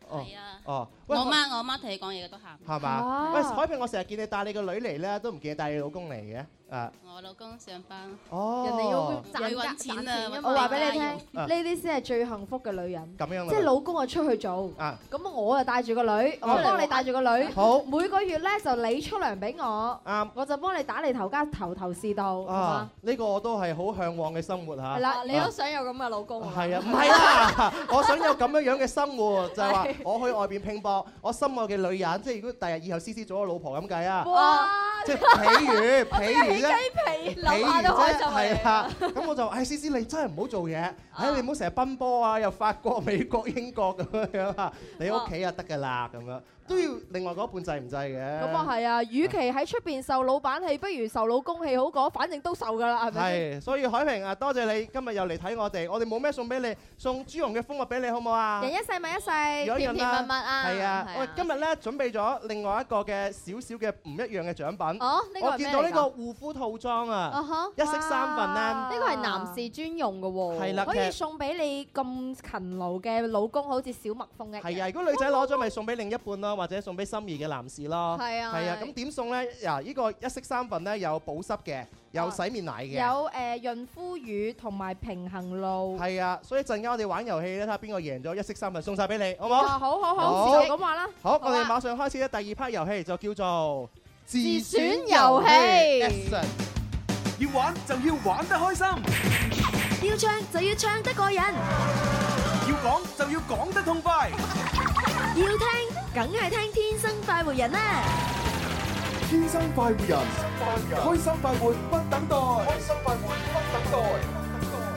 係啊。 哦， 我媽我媽同你講嘢都喊。 係嘛？喂，海平，我成日見你帶你個女嚟咧，都唔見你帶你老公嚟嘅。誒， 我老公上班。 哦， 人哋要賺揾錢啊！ 我話俾你聽，呢啲先係最幸福嘅女人。 咁樣即係老公啊出去做， 啊， 咁我啊帶住個女，我幫你帶住個女。 好， 每個月咧就你出糧俾我， 啱， 我就幫你打理頭家頭頭是道。 啊，呢個我都係好向往嘅生活嚇。 係啦，你都想有咁嘅老公。 係啊，唔係啦，我想有咁樣樣嘅生活，就係話我去外邊拼搏，我心愛嘅女人，即係如果第日以後思思做我老婆咁計啊。 哇！ 即係譬如譬如啫， 皮諗下都開心係啊，咁我就誒思思你真係唔好做嘢，誒你唔好成日奔波啊，又法國、美國、英國咁樣啊，你屋企啊得㗎啦咁樣。都要另外嗰一半制唔制嘅？ 咁啊係啊，與其喺出邊受老闆氣，不如受老公氣好過，反正都受㗎啦，係咪？ 係，所以海平啊，多謝你今日又嚟睇我哋，我哋冇咩送俾你，送朱紅嘅蜂蜜俾你好唔好啊？ 人一世物一世，甜甜蜜蜜啊！ 係啊，我哋今日咧準備咗另外一個嘅少少嘅唔一樣嘅獎品。 哦，呢個係咩嚟㗎？ 我見到呢個護膚套裝啊，一式三份咧。 呢個係男士專用嘅喎。 係啦， 可以送俾你咁勤勞嘅老公，好似小蜜蜂一樣。 係啊，如果女仔攞咗，咪送俾另一半咯，或者送俾心儀嘅男士咯， 係啊， 係啊，咁點送咧？嗱，呢個一式三份咧，有保濕嘅，有洗面奶嘅， 有誒潤膚乳同埋平衡露。 係啊，所以陣間我哋玩遊戲咧，睇下邊個贏咗一式三份，送曬俾你，好唔好？ 好好好，咁話啦。 好，我哋馬上開始咧第二 part 遊戲，就叫做自選遊戲。 要玩就要玩得開心， 要唱就要唱得過癮， 要講就要講得痛快。 要聽，梗係聽天生快活人啦！ 天生快活人，開心快活不等待，開心快活不等待。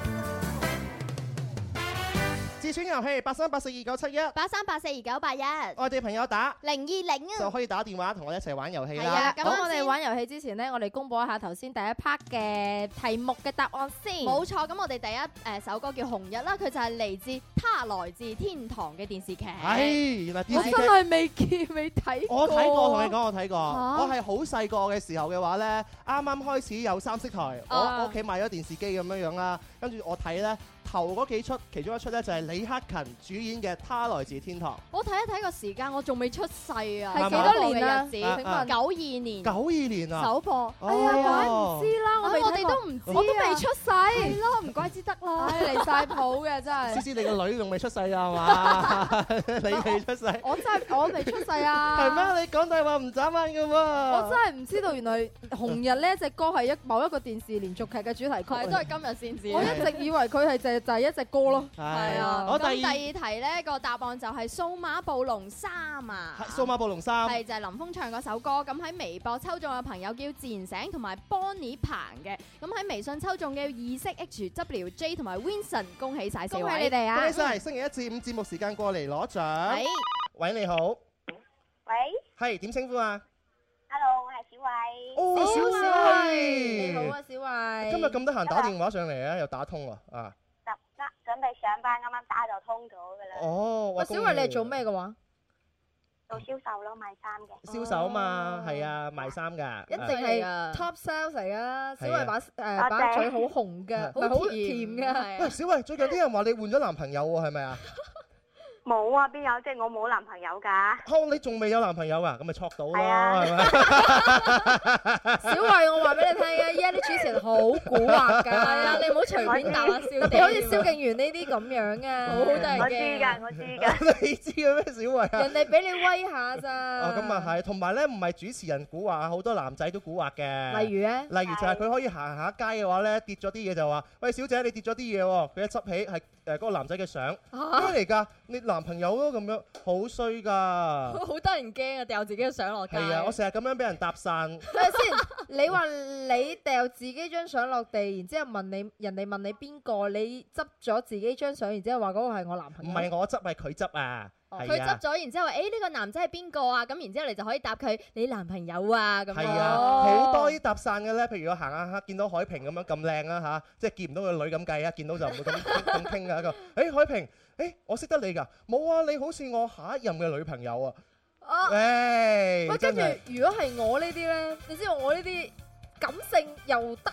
自選遊戲八三八四二九七一， 八三八四二九八一， 外地朋友打零二零啊， 就可以打電話同我哋一齊玩遊戲啦。 係啊，咁我哋玩遊戲之前呢，我哋公佈一下頭先第一 part 嘅題目嘅答案先。 冇錯，咁我哋第一誒首歌叫《紅日》啦，佢就係嚟自《他來自天堂》嘅電視劇。 係，原來電視劇我真係未見未睇過。 我睇過，同你講我睇過。我係好細個嘅時候嘅話咧，啱啱開始有三色台，我我屋企買咗電視機咁樣樣啦，跟住我睇咧。頭嗰幾出，其中一出咧就係李克勤主演嘅《他來自天堂》。 我睇一睇個時間，我仲未出世啊！ 係幾多年啊？ 請問九二年。 九二年啊！ 首播。 哎呀，怪唔知啦，我我哋都唔知，我都未出世。 係咯，唔怪之得啦。 離曬譜嘅真係。 思思，你個女仲未出世啊？係嘛？你未出世。 我真係我未出世啊！ 係咩？你講大話唔眨眼嘅喎。 我真係唔知道，原來《紅日》呢隻歌係一某一個電視連續劇嘅主題曲， 都係今日先知。 我一直以為佢係就就係一隻歌咯。 係啊，咁第二題咧個答案就係《數碼暴龍三》啊， 《數碼暴龍三》 係就係林峯唱嗰首歌。咁喺微博抽中嘅朋友叫自然醒同埋 Bonnie 彭嘅，咁喺微信抽中嘅意識 H W J 同埋 Vincent， 恭喜曬四位！ 恭喜你哋啊！ 恭喜曬！星期一至五節目時間過嚟攞獎。 喂， 喂你好。 喂。 係點稱呼啊 ？Hello，我係小慧。 哦，小慧。 你好啊，小慧。 今日咁得閒打電話上嚟啊，又打通喎啊！ 準備上班，啱啱打就通咗噶啦。 哦， 喂，小慧你係做咩嘅話？ 做銷售咯，賣衫嘅。 銷售啊嘛，係啊，賣衫㗎。 一定係 top sales 嚟噶。小慧把誒把嘴好紅嘅，好甜嘅。 喂，小慧，最近啲人話你換咗男朋友喎，係咪啊？ 冇啊，邊有？即係我冇男朋友㗎。 哦，你仲未有男朋友啊？咁咪錯到咯，係咪？ 小慧，我話俾你聽啊，依家啲主持人好蠱惑㗎。係啊，你唔好隨便答啊，小弟。好似蕭敬元呢啲咁樣啊，好得人驚。 我知㗎，我知㗎。 你知嘅咩，小慧啊？ 人哋俾你威下咋。 哦，咁啊係，同埋咧唔係主持人蠱惑，好多男仔都蠱惑嘅。 例如咧？ 例如就係佢可以行下街嘅話咧，跌咗啲嘢就話：喂，小姐，你跌咗啲嘢喎。佢一執起係誒嗰個男仔嘅相，咩嚟㗎？你男朋友咯咁樣，好衰㗎！ 好得人驚啊！掉自己嘅相落街。 係啊，我成日咁樣俾人搭訕。 係咪先？你話你掉自己張相落地，然之後問你人哋問你邊個，你執咗自己張相，然之後話嗰個係我男朋友。 唔係我執，係佢執啊！ 佢執咗，然之後話：誒呢個男仔係邊個啊？咁然之後你就可以答佢你男朋友啊咁樣。 係啊，好多啲搭訕嘅咧，譬如我行下下見到海平咁樣咁靚啊嚇，即係見唔到個女咁計啊，見到就唔會咁咁傾㗎一個。誒海平，誒我識得你㗎，冇啊，你好似我下一任嘅女朋友啊。 哦。 誒。 喂，跟住如果係我呢啲咧，你知道我呢啲感性又得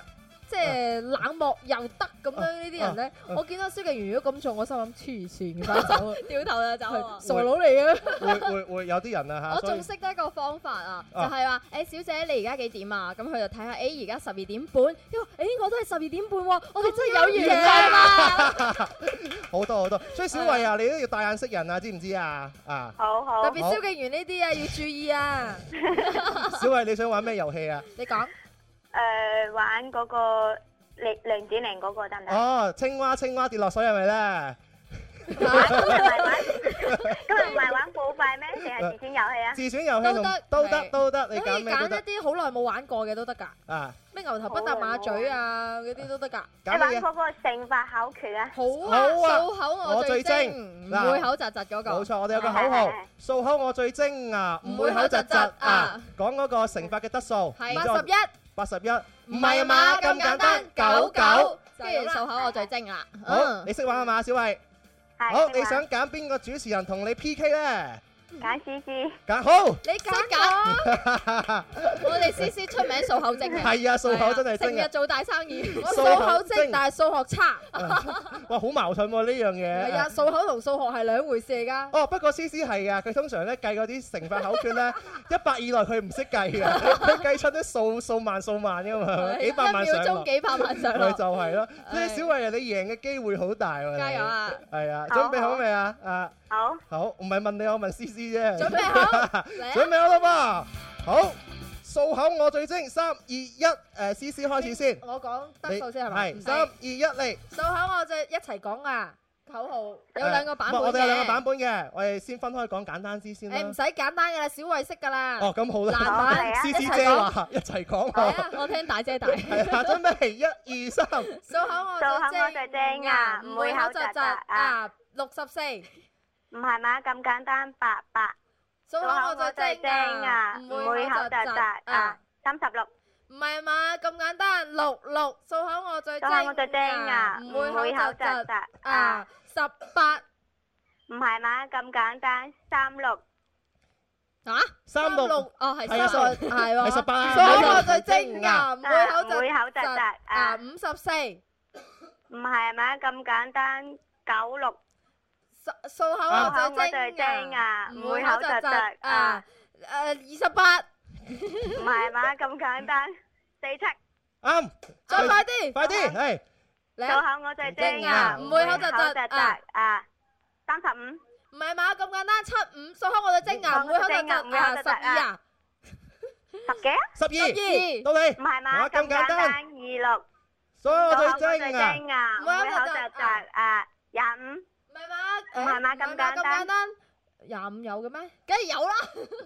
即係冷漠又得咁樣呢啲人咧，我見到蕭敬元如果咁做，我心諗黐線嘅，快走啊！ 掉頭就走啊！ 傻佬嚟嘅。 會會會有啲人啊嚇。 我仲識得一個方法啊，就係話誒小姐你而家幾點啊？咁佢就睇下誒而家十二點半，因為誒我都係十二點半喎，我哋真係有緣分啊！ 好多好多，所以小慧啊，你都要帶眼識人啊，知唔知啊？啊！ 好好。 特別蕭敬元呢啲啊，要注意啊！ 小慧，你想玩咩遊戲啊？ 你講。 誒，玩嗰個零零點零嗰個得唔得？ 哦，青蛙青蛙跌落水係咪咧？ 今日唔係玩，今日唔係玩補費咩？定係自選遊戲啊？ 自選遊戲同都得都得，你揀咩都得。 可以揀一啲好耐冇玩過嘅都得㗎。 啊！ 咩牛頭不搭馬嘴啊，嗰啲都得㗎。 你玩嗰個乘法口訣啊？ 好啊！數口我最精， 唔會口窒窒嗰個。 冇錯，我哋有個口號：數口我最精啊，唔會口窒窒啊。講嗰個乘法嘅得數。 係八十一。 八十一，唔係啊嘛，咁簡單，九九， 跟住數口我最精啦。 好，你識玩啊嘛，小慧？好，你想揀邊個主持人同你 P K 咧？ 揀 C C。 揀好。 你識揀？我哋 C C 出名數口精嘅。 係啊，數口真係精啊！ 成日做大生意。 我數口精，但係數學差。 哇，好矛盾喎呢樣嘢。 係啊，數口同數學係兩回事嚟㗎。 哦，不過 C C 係啊，佢通常咧計嗰啲乘法口訣咧，一百以內佢唔識計㗎，佢計出啲數數萬數萬㗎嘛，幾百萬上落。 一秒鐘幾百萬上落。 咪就係咯，所以小慧啊，你贏嘅機會好大喎。 加油啊！ 係啊，準備好未啊？啊！ 好。 好，唔係問你，我問 C C 啫。 準備好， 準備好啦噃。好，數口我最精，三二一，誒 C C 開始先。 我講得數先係咪？ 係，三二一嚟。 數口我最一齊講啊！口號有兩個版本嘅。 我哋有兩個版本嘅，我哋先分開講簡單啲先啦。 誒唔使簡單嘅啦，小慧識㗎啦。 哦，咁好啦。 難版 ，C C 姐話一齊講。 係啊， 我聽大姐大。 係啊，準備一二三。 數口我最精啊，唔會口窒窒啊，六十四。 唔係嘛，咁簡單，八八。 數口我最精啊， 唔會口窒窒啊，三十六。 唔係嘛，咁簡單，六六。數口我最精啊，唔會口窒窒啊，十八。 唔係嘛，咁簡單，三六。 啊？ 三六。 哦，係三六，係喎。 係十八。 數口我最精啊，唔會口唔會口窒窒啊，五十四。 唔係嘛，咁簡單，九六。 數口我最精啊，唔會口窒窒啊，誒二十八， 唔係嘛，咁簡單，四七， 啱， 再快啲， 快啲，係， 數口我最精啊， 唔會口窒窒啊，三十五， 唔係嘛，咁簡單，七五，數口我最精啊，唔會口窒窒啊，十二啊， 十幾啊， 十二，到你， 唔係嘛，咁簡單，二六， 數口我最精啊，唔會口窒窒啊，廿五。 唔係嘛？ 唔係嘛？咁簡單， 廿五有嘅咩？梗係有啦。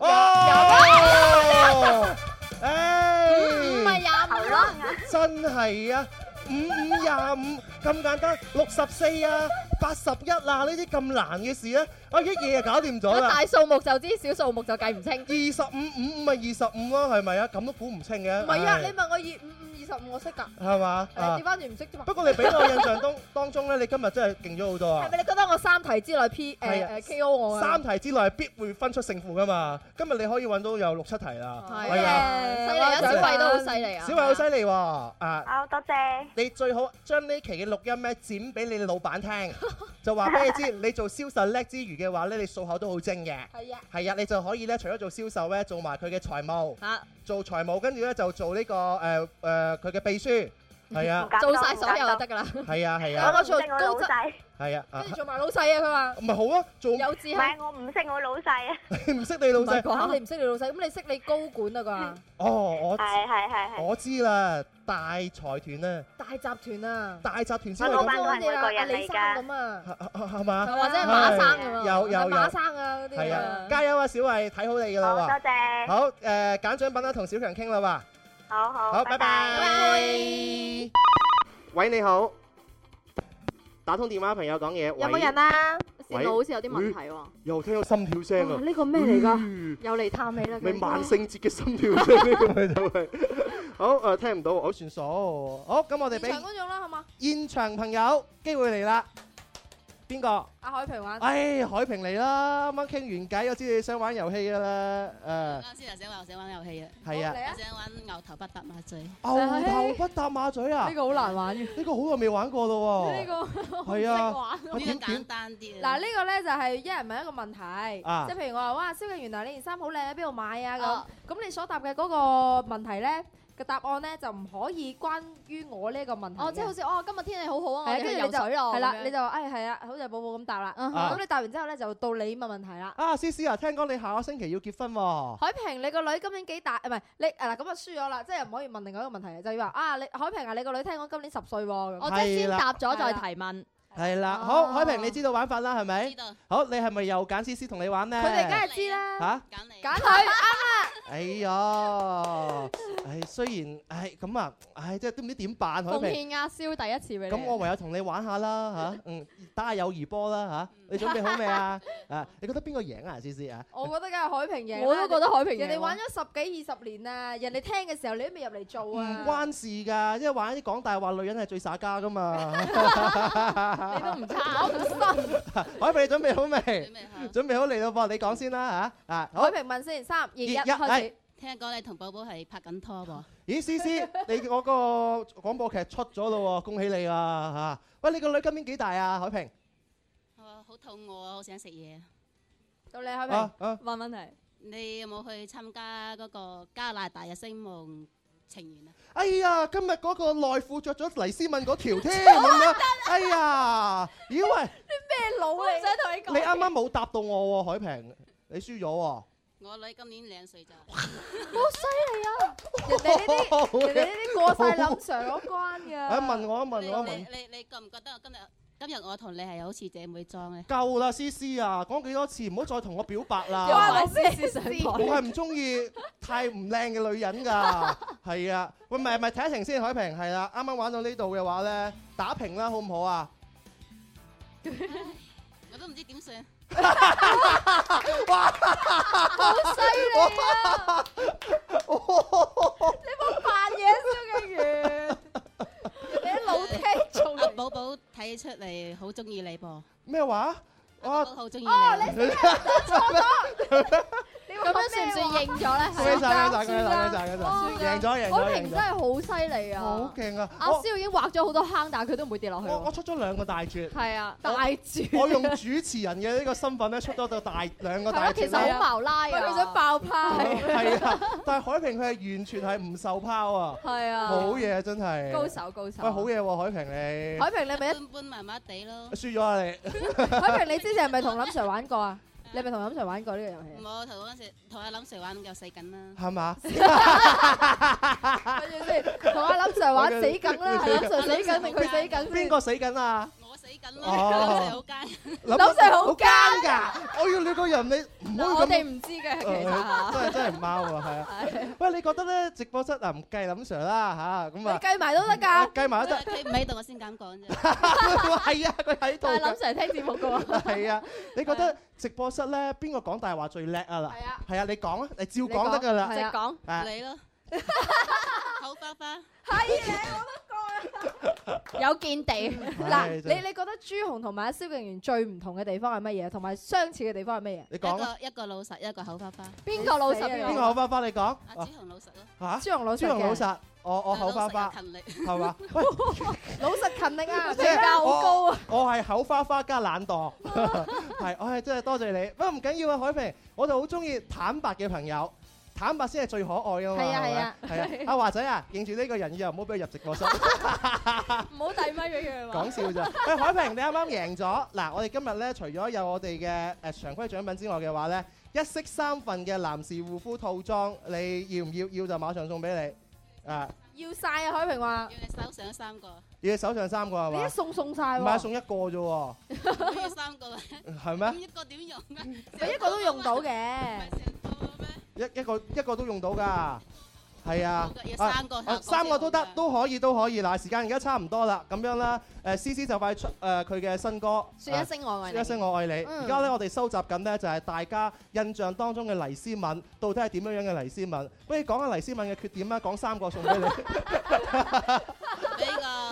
哦，誒， 唔係廿五咯， 真係啊！五五廿五咁簡單，六十四啊，八十一啊，呢啲咁難嘅事咧，我一嘢就搞掂咗啦。 大數目就知，小數目就計唔清。 二十五五五咪二十五咯，係咪啊？咁都估唔清嘅。 唔係啊，你問我二五五二十五，我識㗎。 係嘛？ 調翻轉唔識啫嘛。 不過你俾我印象當當中咧，你今日真係勁咗好多啊！ 係咪你覺得我三題之內 P 誒誒 K O 我啊？ 三題之內必會分出勝負㗎嘛！今日你可以揾到有六七題啦。 係啊，犀利啊！小慧都好犀利啊！ 小慧好犀利喎！啊， 好多謝。 你最好將呢期嘅錄音咧剪俾你老闆聽，就話俾你知，你做銷售叻之餘嘅話咧，你數口都好精嘅。 係啊。係啊，你就可以咧，除咗做銷售咧，做埋佢嘅財務。 嚇。 做財務，跟住咧就做呢個誒誒佢嘅秘書。係啊。 做曬所有就得㗎啦。 係啊係啊。 我做高質。 係啊。 跟住做埋老細啊！佢話。 唔係好啊，做。 有志氣。 唔係我唔識我老細啊。 你唔識你老細。 講你唔識你老細，咁你識你高管啊啩？ 哦，我。 係係係係。 我知啦，大財團啊。 大集團啊。 大集團先係咁。我老闆都係每個人嚟㗎。 咁啊。 係嘛？ 或者係馬生咁啊。 有有有。 馬生啊嗰啲。 係啊，加油啊，小慧，睇好你㗎啦喎。 多謝。 好誒，揀獎品啦，同小強傾啦喎。 好好。 好，拜拜。喂，你好。打通電話朋友講嘢。 有冇人啊？ 線路好似有啲問題喎。 又聽到心跳聲啊！ 呢個咩嚟㗎？又嚟探你啦！ 咪萬聖節嘅心跳聲呢個咪就係。好誒，聽唔到，好算數。好，咁我哋俾現場觀眾啦，好嘛？ 現場朋友機會嚟啦。 邊個？ 阿海平玩。 唉，海平嚟啦！啱啱傾完偈，我知你想玩遊戲㗎啦。誒。 啱先就想話想玩遊戲啊。 係啊。 我想玩牛頭不搭馬嘴。 牛頭不搭馬嘴啊！ 呢個好難玩嘅。 呢個好耐未玩過咯喎。 呢個係啊。 呢個簡單啲。 嗱呢個咧就係一人問一個問題， 啊即係譬如我話哇，蕭敬元啊，你件衫好靚喺邊度買啊咁，咁你所答嘅嗰個問題咧嘅答案咧就唔可以關於我呢個問題。 哦，即係好似哦，今日天氣好好啊，我哋去跟住你就游水咯。 係啦，你就話誒係啊，好似寶寶咁答啦。咁你答完之後咧，就到你問問題啦。 啊，思思啊，聽講你下個星期要結婚喎。 海平，你個女今年幾大？唔係你誒嗱，咁啊輸咗啦，即係唔可以問另外一個問題，就要話啊，你海平啊，你個女聽講今年十歲喎。 我即係先答咗再提問。 係啦，好，海平你知道玩法啦，係咪？ 知道。 好，你係咪又揀思思同你玩呢？ 佢哋梗係知啦。 嚇？ 揀你。 揀佢啱啦。 哎呀，唉，雖然唉咁啊，唉，即係都唔知點辦，海奉平。 獻阿蕭第一次俾你。 咁我唯有同你玩下啦嚇，嗯，打下友誼波啦嚇。你準備好未啊？啊，你覺得邊個贏啊？思思啊？ 我覺得梗係海平贏。 我都覺得海平贏。 人哋玩咗十幾二十年啊，人哋聽嘅時候你都未入嚟做啊。 唔關事㗎，因為玩啲講大話女人係最耍家㗎嘛。 你都唔差，我唔信。 海平你準備好未？ 準備好。 準備好嚟到噃，你講先啦嚇。啊，好海平問先，三二一開始。 聽講你同寶寶係拍緊拖噃？ 咦，思思，你我個廣播劇出咗咯喎，恭喜你啊嚇！喂，你個女今年幾大啊？海平？ 我好肚餓啊，好想食嘢。 到你海平，問問題。 你有冇去參加嗰個加拿大嘅星夢情緣啊？ 哎呀，今日嗰個內褲着咗黎思敏嗰條添咁樣。哎呀，咦喂！ 啲咩佬嚟？想同你講。 你啱啱冇答到我喎，海平，你輸咗喎。 我女今年兩歲咋。 好犀利啊！人哋呢啲，人哋呢啲過晒林 Sir 嗰關㗎。 啊，問我啊，問我啊，問。 你你你覺唔覺得我今日今日我同你係好似姐妹裝咧？ 夠啦，思思啊，講幾多次，唔好再同我表白啦。 關你思思上台。 我係唔中意太唔靚嘅女人㗎。係啊，喂，咪咪睇一停先，海平係啦，啱啱玩到呢度嘅話咧，打平啦，好唔好啊？ 我都唔知點算。 哇！好犀利啊！你冇扮嘢，蕭敬元，你啲老聽眾。 阿寶寶睇出嚟好中意你噃。 咩話？ 我好中意你。 哦，你錯咗。 咁樣算唔算認咗咧？ 恭喜晒，恭喜晒，恭喜晒，恭喜晒，贏咗，贏咗， 海平真係好犀利啊！ 好勁啊！ 阿蕭已經畫咗好多坑，但係佢都唔會跌落去。 我我出咗兩個大絕。 係啊，大絕。 我用主持人嘅呢個身份咧，出咗個大兩個大絕。 其實好矛拉啊！ 佢想爆泡。 係啊，但係海平佢係完全係唔受拋啊！ 係啊， 好嘢真係。 高手高手。 喂，好嘢喎，海平你。 海平你咪一般般麻麻地咯。 輸咗啊你！ 海平你之前係咪同林 Sir 玩過啊？你係咪同林 Sir 玩過呢個遊戲？ 我同嗰陣時同阿林 Sir 玩又死緊啦。 係嘛？ 跟住先，同阿林 Sir 玩死緊啦，係林 Sir 死緊定佢死緊先？ 邊個死緊啊？ 我死緊啦，林 Sir 好奸。 林 Sir 好奸㗎！我要你個人你唔好咁。 我哋唔知嘅其實。 真係真係唔啱喎，係啊。喂，你覺得咧直播室啊唔計林 Sir 啦嚇，咁啊。 計埋都得㗎。 計埋都得。 佢唔喺度，我先咁講啫。 係啊，佢喺度。 但係林 Sir 聽節目㗎喎。 係啊，你覺得直播室咧邊個講大話最叻啊？嗱， 係啊， 係啊，你講啊，你照講得㗎啦。 直講。 你咯。口花花。 係你我都講啊。 有見地。 嗱，你你覺得朱紅同埋阿蕭敬元最唔同嘅地方係乜嘢？同埋相似嘅地方係乜嘢？ 你講。 一個一個老實，一個口花花。 邊個老實？ 邊個口花花？你講。 阿朱紅老實咯。 嚇？ 朱紅老實。 朱紅老實。我我口花花。 勤力。 係嘛？喂， 老實勤力啊！ 即係評價好高啊！ 我係口花花加懶惰。係，我係真係多謝你。不過唔緊要啊，海平，我就好中意坦白嘅朋友。坦白先係最可愛㗎嘛， 係啊係啊， 係啊！阿華仔啊，認住呢個人以後唔好俾佢入直播室， 唔好遞咪俾佢。 講笑咋？喂，海平，你啱啱贏咗嗱！我哋今日咧，除咗有我哋嘅誒常規獎品之外嘅話咧，一式三份嘅男士護膚套裝，你要唔要？要就馬上送俾你啊！ 要晒啊！海平話要你手上三個。 要你手上三個係嘛？ 你一送送晒喎。 唔係送一個啫喎。 要三個啊？ 係咩？ 咁一個點用啊？ 咪一個都用到嘅。 一一個一個都用到㗎，係啊， 三個啊三個都得，都可以都可以。嗱，時間而家差唔多啦，咁樣啦，誒思思就快出誒佢嘅新歌， 説一聲我愛你， 説一聲我愛你。而家咧，我哋收集緊呢，就係大家印象當中嘅黎思敏，到底係點樣樣嘅黎思敏？不如講下黎思敏嘅缺點啦，講三個送俾你。 比較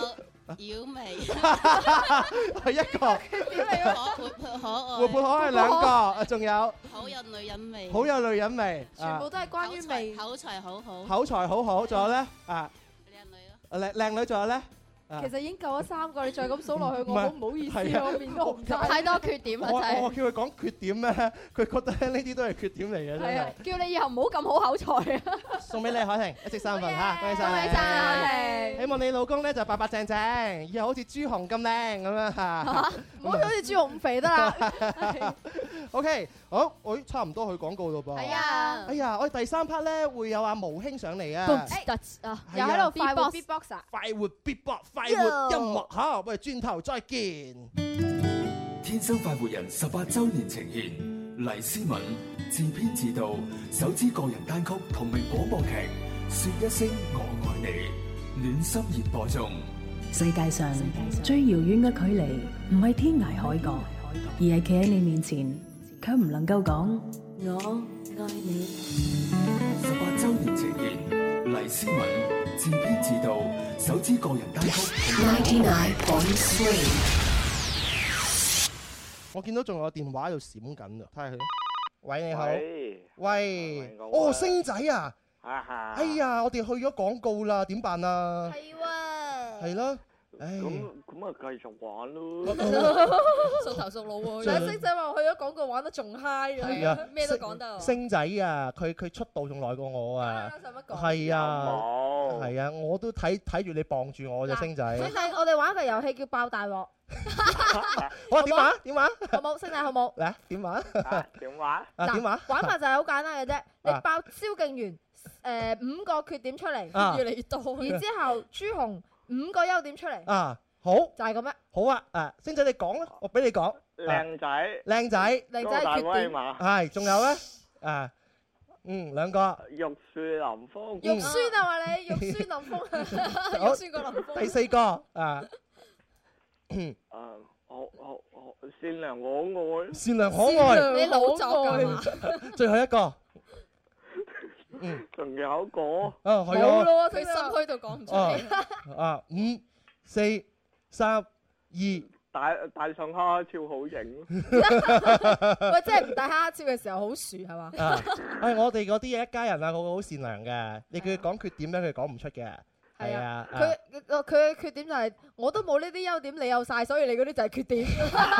妖媚， 係一個。 點嚟㗎？ 活潑可愛， 活潑可愛兩個，仲有好有女人味， 好有女人味， 全部都係關於味， 口才好好， 口才好好，仲有咧啊， 靚女咯， 靚靚女，仲有咧。 其實已經夠咗三個，你再咁數落去，我好唔好意思，我面都紅晒。 太多缺點啦， 我真係。 我叫佢講缺點咧，佢覺得呢啲都係缺點嚟嘅，真係啊係。 叫你以後唔好咁好口才啊！ 送俾你海婷一式三份嚇，恭喜晒你！ 恭喜晒海婷！ 希望你老公咧就白白淨淨，以後好似朱紅咁靚咁樣嚇。 唔好好似朱紅咁肥得啦。 OK，好，我差唔多去廣告咯噃。 係啊。 哎呀，我哋第三 part 咧會有阿毛兄上嚟啊。 啊，又喺度快活 beatbox 啊！ 快活 beatbox，快活音樂。好，我哋轉頭再見。 天生快活人十八週年呈現，黎思敏自編自導首支個人單曲同名廣播劇《說一聲我愛你》，暖心熱播中。 世界上最遙遠嘅距離，唔係天涯海角，而係企喺你面前，卻唔能夠講我愛你。 十八週年呈現，黎思敏自編自導首支個人單曲同名廣播劇。 我見到仲有電話喺度閃緊啊！睇下佢。喂，你好。 喂。 喂。哦，星仔啊！哎呀，我哋去咗廣告啦，點辦啊？ 係喎。 係咯。唉。 咁咁啊，繼續玩咯。 熟頭熟路喎。但係星仔話去咗廣告玩得仲 high 係啊， 咩都講得。 星仔啊，佢佢出道仲耐過我啊。 使乜講？ 係啊。係啊，我都睇睇住你傍住我啫，星仔。 星仔，我哋玩一個遊戲叫爆大鑊。 我點玩？點玩？ 好冇，星仔好冇？ 嚟點玩？ 點玩？ 啊點玩？ 玩法就係好簡單嘅啫，你爆蕭敬元誒五個缺點出嚟，越嚟越多。然之後朱紅五個優點出嚟。啊，好。就係咁樣。 好啊，誒，星仔你講啦，我俾你講。 靚仔。 靚仔。 靚仔缺點。 係，仲有咧？誒，嗯，兩個。 玉樹臨風。 肉酸啊話你，肉酸林峰。肉酸過林峰。 第四個啊。 誒，好好好，善良可愛。 善良可愛。 你老作㗎嘛？ 最後一個。 嗯。仲有一個。 啊，係啊。 冇咯，佢心虛到講唔出嚟。 啊，五、四、三、二。 戴戴上蝦超好型。 喂，即係唔戴蝦超嘅時候好薯係嘛？ 啊，係我哋嗰啲一家人啊，個個好善良嘅。你叫佢講缺點咧，佢講唔出嘅。係啊， 佢佢佢嘅缺點就係我都冇呢啲優點，你有晒，所以你嗰啲就係缺點。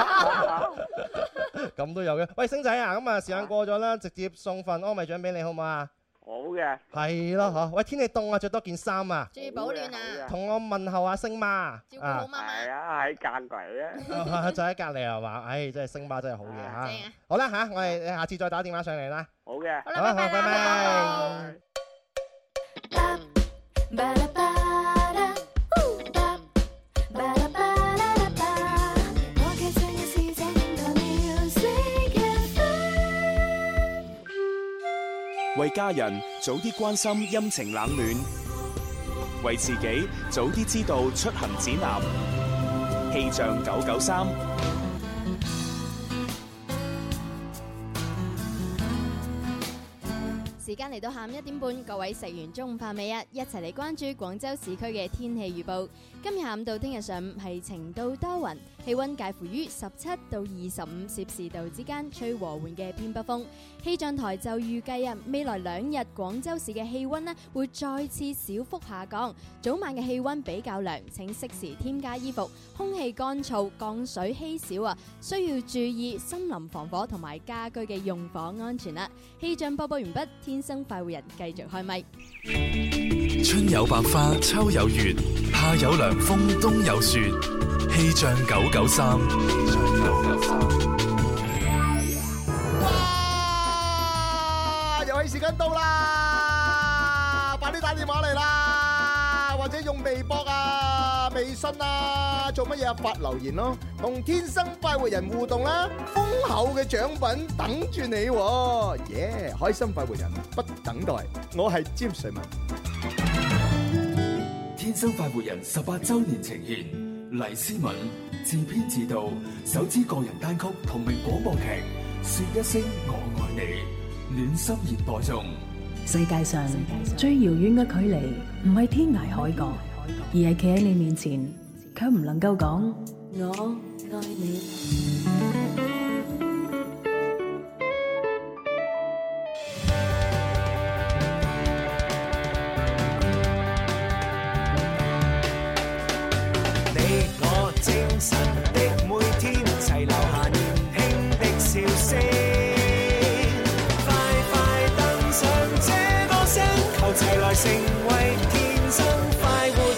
咁都有嘅。喂，星仔啊，咁啊時間過咗啦，直接送份安慰獎俾你好唔好啊？ 好嘅。 係咯，嗬。喂，天氣凍啊，着多件衫啊。 注意保暖啊。 同我問候下星媽。 照顧好媽媽。 係啊，喺隔離啊。就喺隔離係嘛？唉，真係星媽真係好嘢嚇。正啊。好啦嚇，我哋下次再打電話上嚟啦。 好嘅。 好啦，拜拜啦。 為家人早啲關心陰晴冷暖，為自己早啲知道出行指南。氣象九九三。 時間嚟到下午一點半，各位食完中午飯未啊？一齊嚟關注廣州市區嘅天氣預報。今日下午到聽日上午係晴到多雲，氣溫介乎於十七到二十五攝氏度之間，吹和緩嘅偏北風。氣象台就預計啊，未來兩日廣州市嘅氣溫呢會再次小幅下降，早晚嘅氣溫比較涼，請適時添加衣服。空氣乾燥，降水稀少啊，需要注意森林防火同埋家居嘅用火安全啦。氣象播報完畢，天生快活人繼續開咪。 春有百花，秋有月，夏有涼風，冬有雪。氣象九九三。 哇！遊戲時間到啦，快啲打電話嚟啦，或者用微博啊、微信啊，做乜嘢啊？發留言咯，同天生快活人互動啦，豐厚嘅獎品等住你喎！耶！開心快活人不等待，我係詹瑞文。 天生快活人十八週年呈現，黎思敏自編自導首支個人單曲同名廣播劇《說一聲我愛你》，暖心熱播中。 世界上最遙遠嘅距離，唔係天涯海角，而係企喺你面前， 卻唔能夠講我愛你。 你我精神的每天，齊留下年輕的笑聲。快快登上這個星球，齊來成為天生快活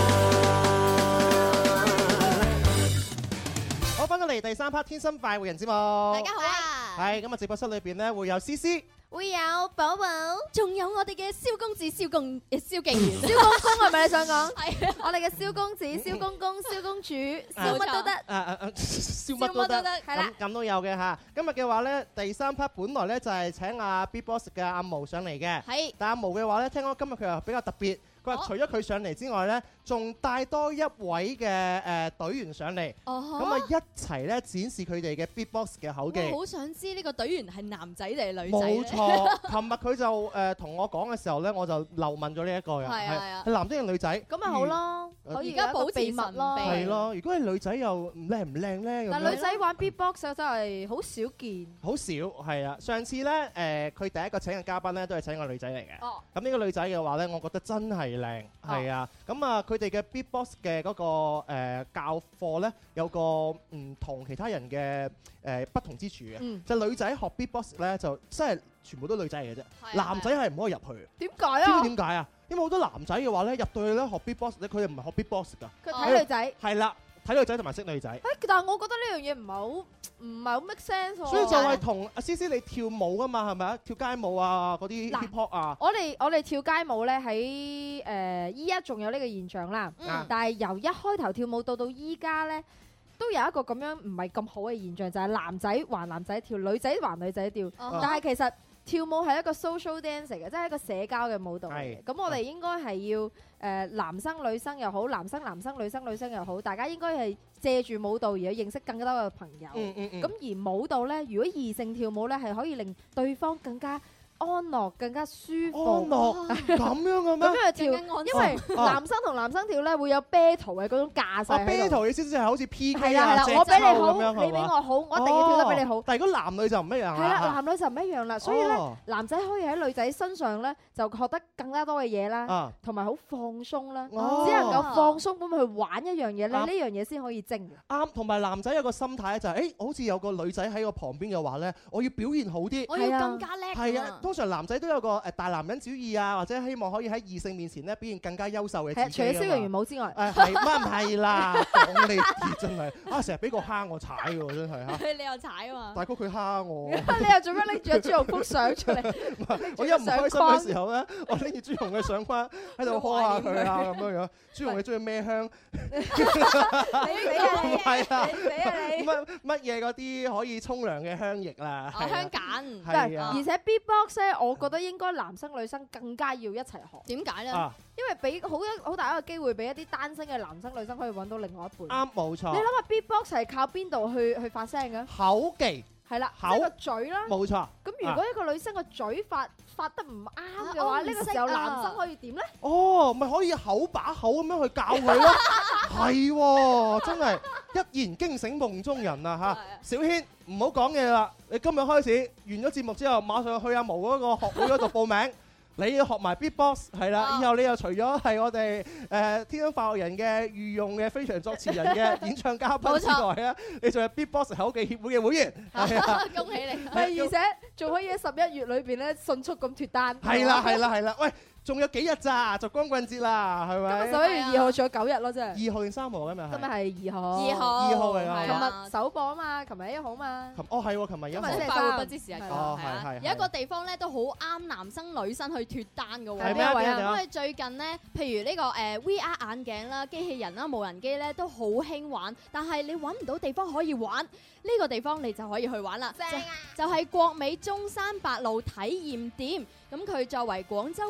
人。 好，翻到嚟第三 part《天生快活人》節目。大家好啊！ 係咁啊！直播室裏邊咧會有思思。 會有寶寶，仲有我哋嘅蕭公子、蕭公誒蕭敬元、蕭公公係咪你想講？係啊，我哋嘅蕭公子、蕭公公、蕭公主，蕭乜都得。誒誒誒，蕭乜都得，係啦，咁都有嘅嚇。今日嘅話咧，第三 part 本來咧就係請阿 Big Boss 嘅阿毛上嚟嘅。係。但阿毛嘅話咧，聽講今日佢又比較特別。佢話除咗佢上嚟之外咧，仲帶多一位嘅誒隊員上嚟，咁啊一齊咧展示佢哋嘅 beatbox 嘅口技。 我好想知呢個隊員係男仔定係女仔？ 冇錯，琴日佢就誒同我講嘅時候咧，我就漏問咗呢一個嘅，係係男仔定女仔？ 咁咪好咯，可以而家保持秘密咯。 係咯，如果係女仔又唔靚唔靚咧？ 但女仔玩 beatbox 真係好少見。 好少係啊！上次咧誒，佢第一個請嘅嘉賓咧都係請個女仔嚟嘅。哦。咁呢個女仔嘅話咧，我覺得真係靚，係啊。咁啊，佢哋嘅 beatbox 嘅嗰個誒教課咧，有個唔同其他人嘅誒不同之處嘅。就女仔學 beatbox 咧，就真係全部都女仔嚟嘅啫。男仔係唔可以入去。 點解啊？ 知唔知點解啊？因為好多男仔嘅話咧，入到去咧學 beatbox 咧，佢哋唔係學 beatbox 㗎。 佢睇女仔。 係啦。睇女仔同埋識女仔， 誒，但係我覺得呢樣嘢唔係好唔係好 make sense 喎。 所以就係同阿思思你跳舞啊嘛，係咪啊？跳街舞啊，嗰啲 hip hop 啊。 我哋我哋跳街舞咧喺誒依家仲有呢個現象啦，嗯、但係由一開頭跳舞到到依家咧，都有一個咁樣唔係咁好嘅現象，就係、是、男仔還男仔跳，女仔還女仔跳。Uh-huh. 但係其實跳舞係一個 social dance 嚟嘅，即係一個社交嘅舞蹈嚟嘅。咁我哋應該係要誒、呃、男生女生又好，男生男生女生女生又好，大家應該係借住舞蹈而去認識更加多嘅朋友。咁、嗯嗯嗯、而舞蹈咧，如果異性跳舞咧，係可以令對方更加安樂，更加舒服。安樂咁樣嘅咩？咁樣去跳，因為男生同男生跳咧會有 battle 嘅嗰種架勢。啊 battle 意思即係好似 P K 啊，我比你好，你比我好，我一定要跳得比你好。但係如果男女就唔一樣啦。係啦，男女就唔一樣啦。所以咧，男仔可以喺女仔身上咧就學得更加多嘅嘢啦，同埋好放鬆啦。只能夠放鬆咁去玩一樣嘢咧，呢樣嘢先可以精。啱，同埋男仔有個心態咧就係，誒，好似有個女仔喺我旁邊嘅話咧，我要表現好啲， 我要更加叻。係啊。通常男仔都有個誒大男人主義啊，或者希望可以喺異性面前咧表現更加優秀嘅自己。除咗蕭若元舞之外，誒係乜唔係啦？講你真係啊，成日俾個蝦我踩喎，真係嚇。 你又踩啊嘛？ 大哥佢蝦我。 你又做咩拎住朱紅幅相出嚟？ 我一唔開心嘅時候咧，我拎住朱紅嘅相框喺度呵下佢啊咁樣樣。朱紅你中意咩香？ 你俾啊你！ 係啊！ 你俾啊你！ 乜乜嘢嗰啲可以沖涼嘅香液啦？ 香梘。 係啊。 而且 beatbox 咧，我覺得應該男生女生更加要一齊學。 點解咧？因為俾好一好大一個機會俾一啲單身嘅男生女生可以揾到另外一半。啱，冇錯。你諗下 beatbox 係靠邊度去去發聲嘅？ 口技。係啦， 口個嘴啦。 冇錯。 咁如果一個女生個嘴發發得唔啱嘅話，呢個時候男生可以點咧？ 哦，咪可以口把口咁樣去教佢咯。係喎，真係一言驚醒夢中人啊嚇！小軒唔好講嘢啦，你今日開始完咗節目之後，馬上去阿毛嗰個學會嗰度報名。你要學埋 beatbox 係啦，以後你又除咗係我哋誒天生快活人嘅御用嘅非常作詞人嘅演唱嘉賓之外啊，你仲係 beatbox 口技協會嘅會員。 恭喜你！ 係，而且仲可以喺十一月裏邊咧迅速咁脫單。 係啦係啦係啦，喂！仲有幾日咋？就光棍節啦，係咪？ 今日十一月二號仲有九日咯，真係。 二號定三號今日係？ 今日係二號。 二號。 二號嚟㗎。 琴日首播啊嘛，琴日一號嘛。 琴哦係喎，琴日一號。 今日快活不知時日過。 哦係係。 有一個地方咧都好啱男生女生去脫單嘅喎。 係咩位啊？ 因為最近咧，譬如呢個誒 V R 眼鏡啦、機器人啦、無人機咧都好興玩，但係你揾唔到地方可以玩，呢個地方你就可以去玩啦。正啊！就係國美中山八路體驗店。咁佢作為廣州國美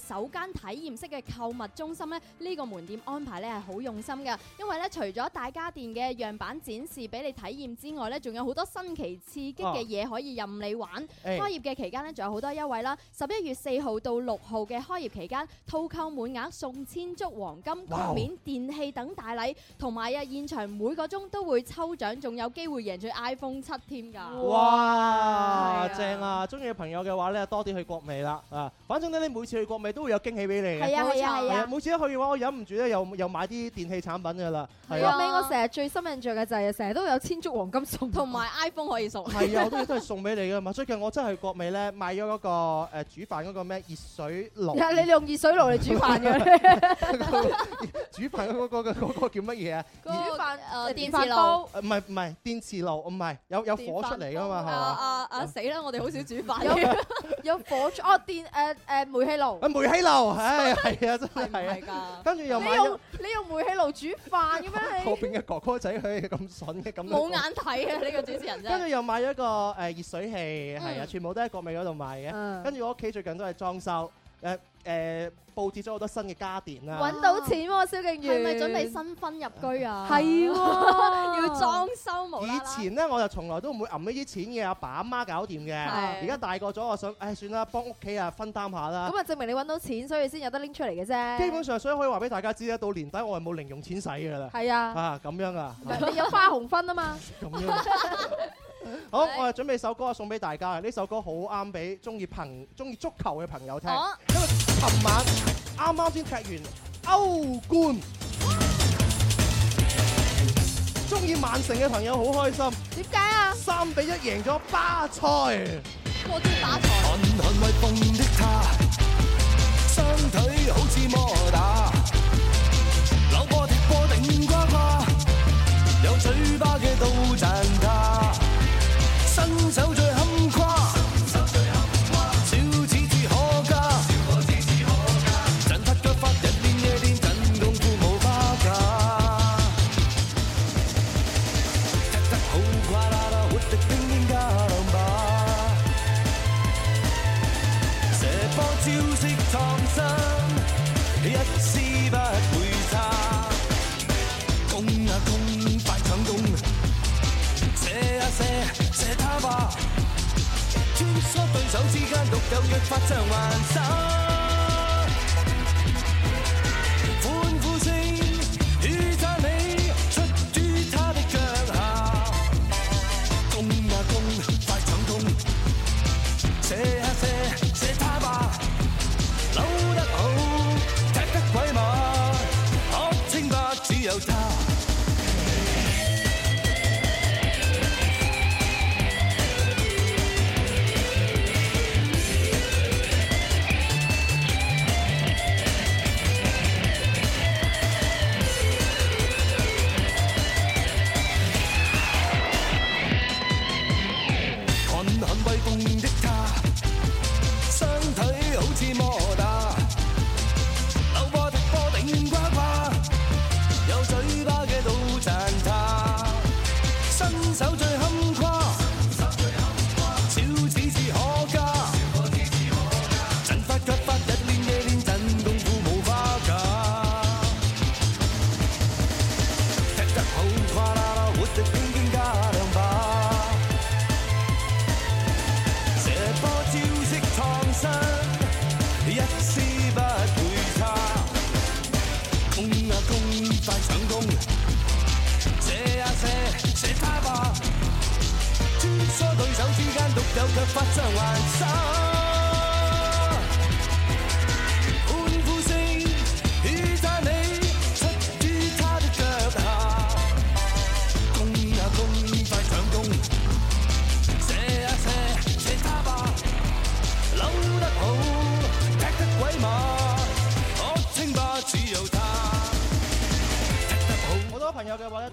首間體驗式嘅購物中心咧，呢個門店安排咧係好用心㗎，因為咧除咗大家電嘅樣板展示俾你體驗之外咧，仲有好多新奇刺激嘅嘢可以任你玩。開業嘅期間咧，仲有好多優惠啦！十一月四號到六號嘅開業期間，套購滿額送千足黃金、局面、電器等大禮，同埋啊現場每個鐘都會抽獎，仲有機會贏取 iPhone 七添㗎！ 哇，正啊！中意嘅朋友嘅話咧，多啲去國美啦啊！反正咧，你每次去國美都會有驚喜俾你嘅。 係啊係啊係啊！ 每次一去嘅話，我忍唔住咧，又又買啲電器產品㗎啦。係啊！國美我成日最深印象嘅就係成日都有千足黃金送， 同埋 iPhone 可以送。 係啊，好多嘢都係送俾你㗎嘛！最近我真係去國美咧買咗嗰個誒煮飯嗰個咩熱水爐。 你用熱水爐嚟煮飯嘅？ 煮飯嗰個嗰個叫乜嘢啊？ 煮飯誒電飯煲。 唔係唔係電磁爐，唔係有有火出嚟㗎嘛？係嘛？ 啊啊死啦！我哋好少煮飯。 有有火出哦電誒誒煤氣爐。 啊煤氣爐，唉係啊真係係啊。跟住又買咗。 你用煤氣爐煮飯嘅咩？ 後邊嘅哥哥仔佢咁筍嘅咁。 冇眼睇啊！呢個主持人真係。 跟住又買咗一個誒熱水器，係啊，全部都喺國美嗰度買嘅。跟住我屋企最近都係裝修，誒誒佈置咗好多新嘅家電啦。 揾到錢喎，蕭敬元。 係咪準備新婚入居啊？ 係喎， 要裝修冇啦啦。 以前咧我就從來都唔會揞呢啲錢嘅，阿爸阿媽搞掂嘅。而家大個咗，我想，唉算啦，幫屋企啊分擔下啦。 咁啊證明你揾到錢，所以先有得拎出嚟嘅啫。 基本上，所以可以話俾大家知咧，到年底我係冇零用錢使㗎啦。 係啊。 啊咁樣啊。 你有花紅分啊嘛。 咁樣。好，我哋準備首歌送俾大家。呢首歌好啱俾中意朋中意足球嘅朋友聽， 哦、 因為琴晚啱啱先踢完歐冠，中意曼城嘅朋友好開心。 點解啊？ 三比一贏咗巴塞。 我知巴塞。 汗汗為夢的他，雙腿好似摩打，扭波踢波頂呱呱，有嘴巴嘅都讚他。身手最坎坷，小子至可嘉，陣法腳法日練夜練，真功夫冇花架。踢得好跨啦啦，活力冰冰加兩把，射波招式創新，一絲不會差。攻啊攻，快搶攻，射啊射。射他吧，穿梭對手之間獨有腳法像幻想，歡呼聲與讚美出於他的腳下，攻啊攻，快搶攻，射啊射，射他吧，扭得好，踢得鬼馬，可稱霸只有他。有腳法像幻想，歡呼聲與讚美出於他的腳下，攻啊攻，快搶攻，射啊射，射他吧，扭得好，踢得鬼馬，可稱霸只有他。 好多朋友嘅話咧都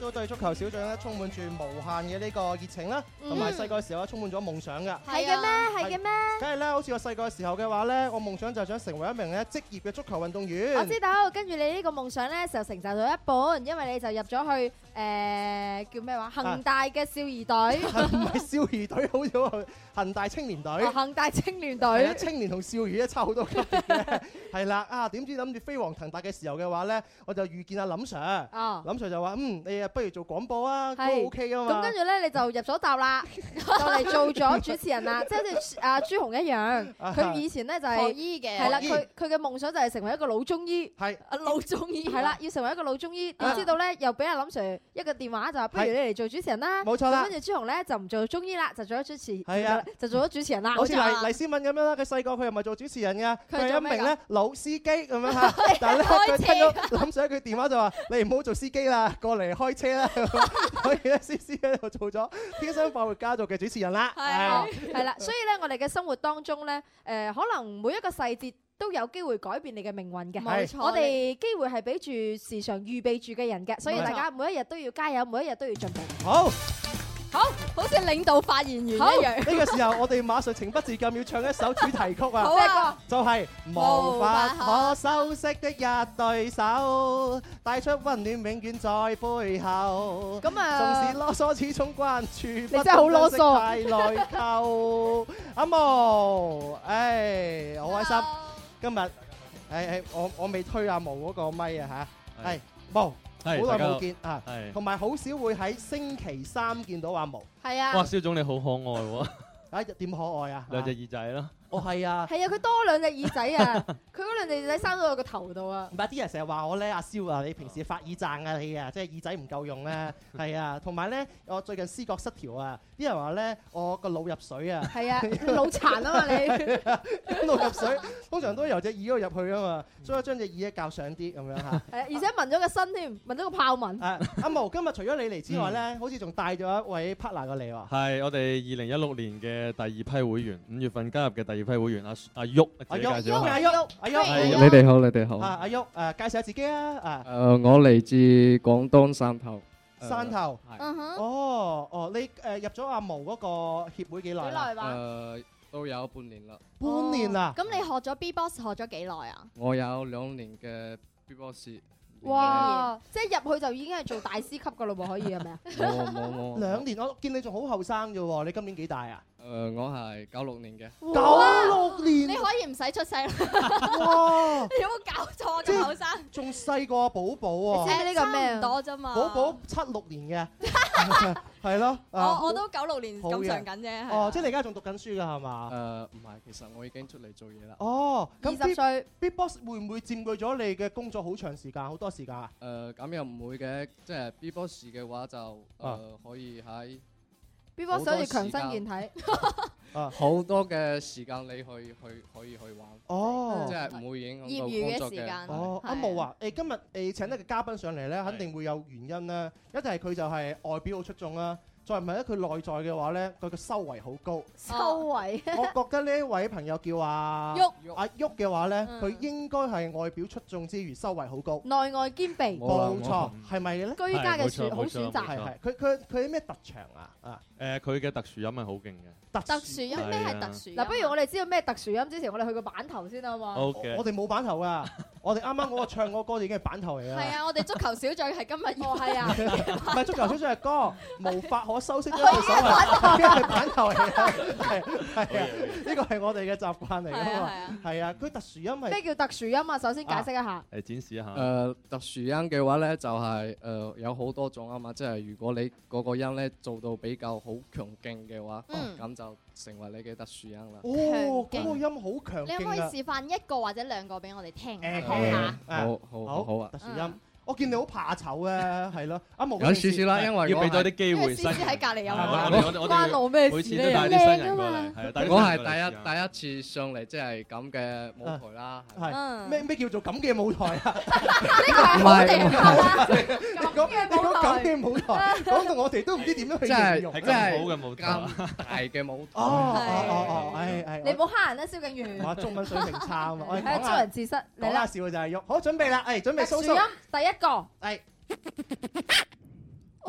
都對足球小將咧充滿住無限嘅呢個熱情啦，同埋細個時候咧充滿咗夢想㗎。 係嘅咩？係嘅咩？ 梗係啦，好似我細個時候嘅話咧，我夢想就係想成為一名咧職業嘅足球運動員。 我知道，跟住你呢個夢想咧就成就咗一半，因為你就入咗去誒叫咩話恒大嘅少兒隊， 唔係少兒隊，好似恒大青年隊。 恒大青年隊。 係啊，青年同少兒咧差好多級別嘅。係啦，啊點知諗住飛黃騰達嘅時候嘅話咧，我就遇見阿林 Sir。哦。林 Sir 就話：嗯，你啊不如做廣播啊，都 OK 啊嘛。 咁跟住咧你就入咗搭啦，就嚟做咗主持人啦，即係好似阿朱紅一樣。佢以前咧就係學醫嘅。 係啦，佢佢嘅夢想就係成為一個老中醫。 係。 啊老中醫。 係啦，要成為一個老中醫。點知道咧又俾阿林 Sir 一個電話就話：不如你嚟做主持人啦。 冇錯啦。 跟住朱紅咧就唔做中醫啦，就做咗主持。 係啊。 就做咗主持人啦。 好似黎黎思敏咁樣啦，佢細個佢又唔係做主持人㗎，佢係一名咧老司機咁樣嚇。但係咧佢聽到林 Sir 一句電話就話：你唔好做司機啦，過嚟開車啦。所以咧，思思咧就做咗天生快活家族嘅主持人啦。 係係啦，所以咧我哋嘅生活當中咧，誒可能每一個細節都有機會改變你嘅命運嘅。 冇錯， 我哋機會係俾住時常預備住嘅人嘅，所以大家每一日都要加油，每一日都要進步。 好。 好，好似領導發言員一好樣。 呢個時候，我哋馬上情不自禁要唱一首主題曲啊！ 好啊， 就係無法可修飾的一對手，帶出溫暖永遠在背後。 咁啊， 縱使囉嗦，始終關注。 你真係好囉嗦。 太內疚，阿毛，誒，好開心。今日誒誒，我我未推阿毛嗰個咪啊嚇，係毛。好耐冇見啊，同埋好少會喺星期三見到阿毛。 係啊。 哇，蕭總你好可愛喎！ 啊，點可愛啊？ 兩隻耳仔咯。 哦，係啊。 係啊，佢多兩隻耳仔啊！佢嗰兩隻耳仔生到我個頭度啊！ 唔係啲人成日話我咧，阿蕭啊，你平時發耳贊啊你啊，即係耳仔唔夠用咧。係啊，同埋咧，我最近思覺失調啊，啲人話咧我個腦入水啊。 係啊，腦殘啊嘛你。 腦入水，通常都由隻耳嗰度入去啊嘛，所以我將隻耳咧較上啲咁樣嚇。 係，而且紋咗個身添，紋咗個豹紋。 誒，阿毛今日除咗你嚟之外咧，好似仲帶咗一位 partner 過嚟喎。 係我哋二零一六年嘅第二批會員，五月份加入嘅第二批會員阿阿旭， 阿旭，阿旭， 阿旭， 你哋好，你哋好。 啊，阿旭，誒，介紹下自己啊，啊。 誒，我嚟自廣東汕頭。 汕頭。 嗯哼。 哦，哦，你誒入咗阿毛嗰個協會幾耐啦？ 幾耐話？ 誒，都有半年啦。 半年啦。 咁你學咗 B-box 學咗幾耐啊？ 我有兩年嘅 B-box。 哇！即係入去就已經係做大師級噶咯喎，可以係咪啊？ 冇冇冇。 兩年，我見你仲好後生啫喎，你今年幾大啊？ 誒，我係九六年嘅。 九六年。 你可以唔使出世啦。 哇！ 你有冇搞錯咁後生？ 仲細過寶寶喎。 你知呢個咩？差唔多啫嘛。 寶寶七六年嘅。係咯。 我我都九六年咁上緊啫。 哦，即係你而家仲讀緊書㗎係嘛？ 誒唔係，其實我已經出嚟做嘢啦。 哦， 二十歲。 B-box 會唔會佔據咗你嘅工作好長時間，好多時間啊？ 誒咁又唔會嘅，即係 B-box 嘅話就誒可以喺 B-box 可以強身健體。 好多嘅時間你去去可以去玩。 哦， 即係唔會影響到業餘工作嘅。 嘅時間。 哦，阿毛啊，誒今日誒請得個嘉賓上嚟咧，肯定會有原因啦。一定係佢就係外表好出眾啦。再唔係咧，佢內在嘅話咧，佢個修為好高。 修為， 我覺得呢一位朋友叫阿旭， 阿旭嘅話咧，佢應該係外表出眾之餘，修為好高。 內外兼備。 冇錯，係咪咧？ 居家嘅選好選擇。 係係，佢佢佢有咩特長啊？啊， 誒，佢嘅特殊音係好勁嘅。 特殊音咩係特殊音？ 嗱，不如我哋知道咩特殊音之前，我哋去個版頭先啊嘛。 好嘅。 我哋冇版頭㗎，我哋啱啱嗰個唱嗰個歌已經係版頭嚟㗎。 係啊，我哋足球小將係今日。 哦，係啊。 唔係足球小將係歌，無法可修飾嘅手係，因為版頭嚟㗎。係係啊，呢個係我哋嘅習慣嚟㗎嘛。係啊，佢特殊音係咩叫特殊音啊？首先解釋一下。 誒，展示一下。 誒，特殊音嘅話咧，就係誒有好多種啊嘛，即係如果你嗰個音咧做到比較好強勁嘅話，咁就成為你嘅特殊音啦。 哦，嗰個音好強勁啊！ 你可唔可以示範一個或者兩個俾我哋聽誒下？ 好好好好啊！ 特殊音，我見你好怕醜啊，係咯。阿毛有少少啦，因為要俾多啲機會新人。 喺隔離有冇？ 關我咩事？ 每次都帶啲新人過嚟，係啊！ 我係第一第一次上嚟，即係咁嘅舞台啦。 係咩咩叫做咁嘅舞台啊？ 唔係你講你講咁嘅舞台，講到我哋都唔知點樣去形容。 係咁好嘅舞台， 咁大嘅舞台。 哦哦哦，係係。 你唔好蝦人啦，蕭敬元。 我中文水平差啊嘛，我係做人自失。 講下笑就係喐，好準備啦，誒準備。 特殊音第一個係，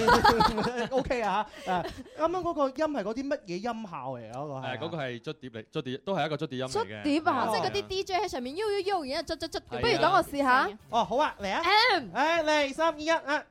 O K 啊嚇，誒啱啱嗰個音係嗰啲乜嘢音效嚟？嗰個係誒嗰個係捽碟嚟，捽碟都係一個捽碟音嚟嘅。 捽碟啊， 即係嗰啲 D J 喺上面喐喐喐，然之後捽捽捽。 不如等我試下。 哦，好啊，嚟啊！誒嚟三二一啊！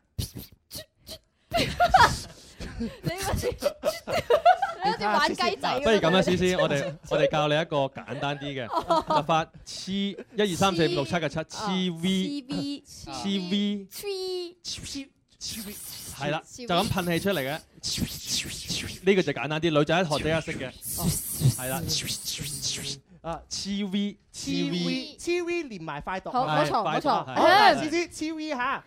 你好似你好似玩雞仔。 不如咁啦，思思，我哋我哋教你一個簡單啲嘅，就發黐一二三四五六七嘅七，黐 V，黐 V，係啦，就咁噴氣出嚟嘅。呢個就簡單啲，女仔學者一識嘅。係啦，啊黐 V， 黐 V，黐 V 連埋快讀。 好，冇錯冇錯。 好，思思黐 V 嚇。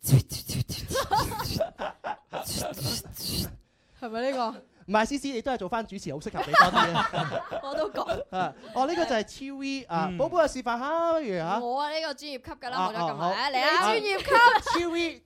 係咪呢個？ 唔係，思思你都係做翻主持好適合你多啲嘅。 我都講。 啊，哦呢個就係超 V 啊，寶寶嘅示範下，不如嚇。 我啊呢個專業級㗎啦，冇得咁埋。嚟啊，專業級超 V。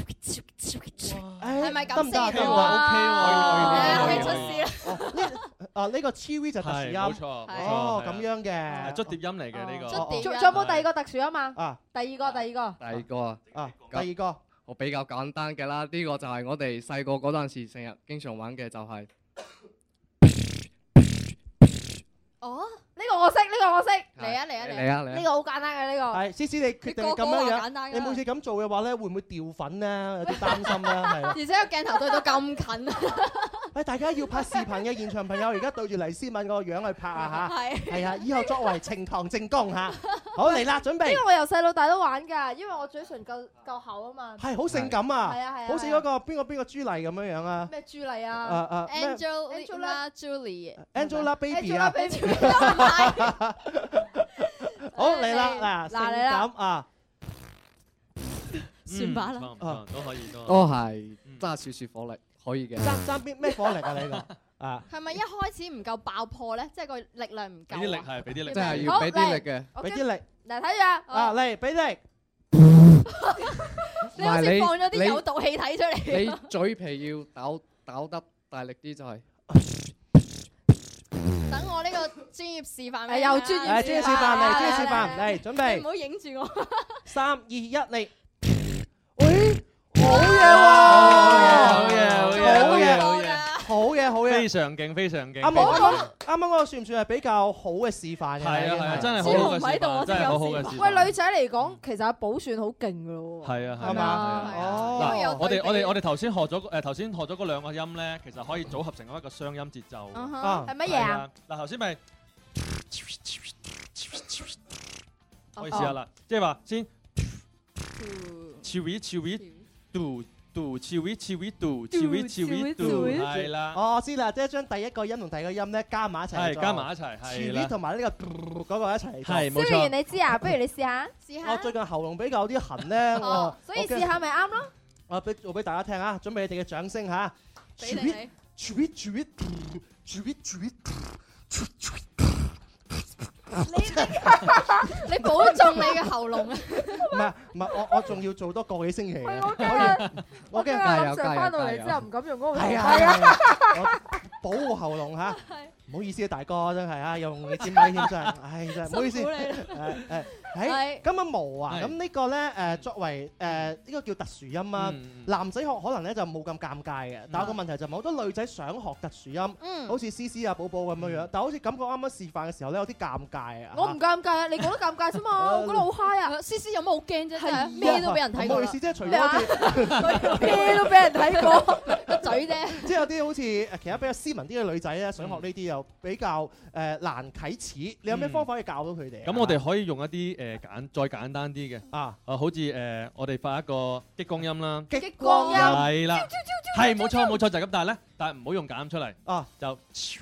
係咪咁先？ 得唔得？ 得喎， 可以出師啦。 啊呢個超 V 就特殊音。 冇錯。 哦，咁樣嘅。 係捽碟音嚟嘅呢個。 仲仲有冇第二個特殊音啊？ 啊， 第二個，第二個。 第二個啊。 啊，第二個。 我比較簡單嘅啦，呢、這個就係我哋細個嗰陣時成日經常玩嘅就係、是。 哦，呢、這個我識，呢、這個我識。 嚟啊嚟啊嚟啊嚟啊！ 呢個好簡單嘅呢、這個。 係，思思你決定咁樣樣，你每次咁做嘅話咧，會唔會掉粉咧？有啲擔心啦，係啦。 而且個鏡頭對到咁近。 誒，大家要拍視頻嘅現場朋友，而家對住黎思敏個樣去拍啊嚇！係係啊，以後作為呈堂證供嚇。好嚟啦，準備。 因為我由細到大都玩㗎，因為我嘴唇夠夠厚啊嘛。 係好性感啊！ 係啊係啊。 好似嗰個邊個邊個朱麗咁樣樣啊？ 咩朱麗啊？ 啊啊 Angela Julie。 Angela Baby 啊！好嚟啦，嗱，性感啊！ 算吧啦。 都可以都。 都係揸少少火力。可以嘅， 爭爭邊咩火力啊？呢個啊， 係咪一開始唔夠爆破咧？即係個力量唔夠。 俾啲力係，俾啲力， 即係要俾啲力嘅， 俾啲力。 嚟睇住啊！嚟俾力。 你好似放咗啲有毒氣體出嚟。 你嘴皮要抖抖得大力啲就係。 等我呢個專業示範俾你。又專業專業示範嚟，專業示範嚟，準備。 唔好影住我。 三二一嚟。喂！好嘢喎！ 好嘢，好嘢，好嘢，好嘢， 好嘢，好嘢， 非常勁，非常勁。 啱啱啱啱啱啱嗰個算唔算係比較好嘅示範嘅？ 係啊係啊，真係好好嘅示範，真係好好嘅示範。 喂，女仔嚟講，其實阿寶算好勁㗎咯喎。 係啊係嘛？ 哦，嗱，我哋我哋我哋頭先學咗誒頭先學咗嗰兩個音咧，其實可以組合成一個雙音節奏。 啊，係乜嘢啊？ 嗱，頭先咪可以試下啦，即係話先。超 V 超 V。do do 超 V 超 V do 超 V 超 V do 係啦。 哦，我知啦，即係將第一個音同第二個音咧加埋一齊。 係加埋一齊，係啦。 超 V 同埋呢個嗰個一齊。 係冇錯。 雖然你知啊，不如你試下，試下。 我最近喉嚨比較有啲痕咧，我所以試下咪啱咯。 我俾做俾大家聽啊，準備你哋嘅掌聲嚇。 俾你。 超 V 超 V超 V 超 V。 你你保重你嘅喉嚨啊！ 唔係唔係，我我仲要做多個幾星期嘅。 我驚我驚加油加油！翻到嚟之後唔敢用嗰個。 係啊，我保護喉嚨嚇。唔好意思啊，大哥真係啊，用你支咪添真係，唉真係唔好意思。誒誒，誒咁啊毛啊，咁呢個咧誒作為誒呢個叫特殊音啊，男仔學可能咧就冇咁尷尬嘅，但係個問題就係好多女仔想學特殊音，好似思思啊、寶寶咁樣樣，但係好似感覺啱啱示範嘅時候咧有啲尷尬啊。 我唔尷尬啊，你覺得尷尬啫嘛，我覺得好 high 啊。 思思有乜好驚啫？係咩都俾人睇過。 唔好意思，即係除咗咩都俾人睇過個嘴啫。 即係有啲好似誒其他比較斯文啲嘅女仔咧，想學呢啲又比較誒難啟齒，你有咩方法可以教到佢哋？ 咁我哋可以用一啲誒簡再簡單啲嘅啊， 啊好似誒我哋發一個激光音啦， 激光音係啦，係冇錯冇錯就係咁，但係咧，但係唔好用假音出嚟啊， 就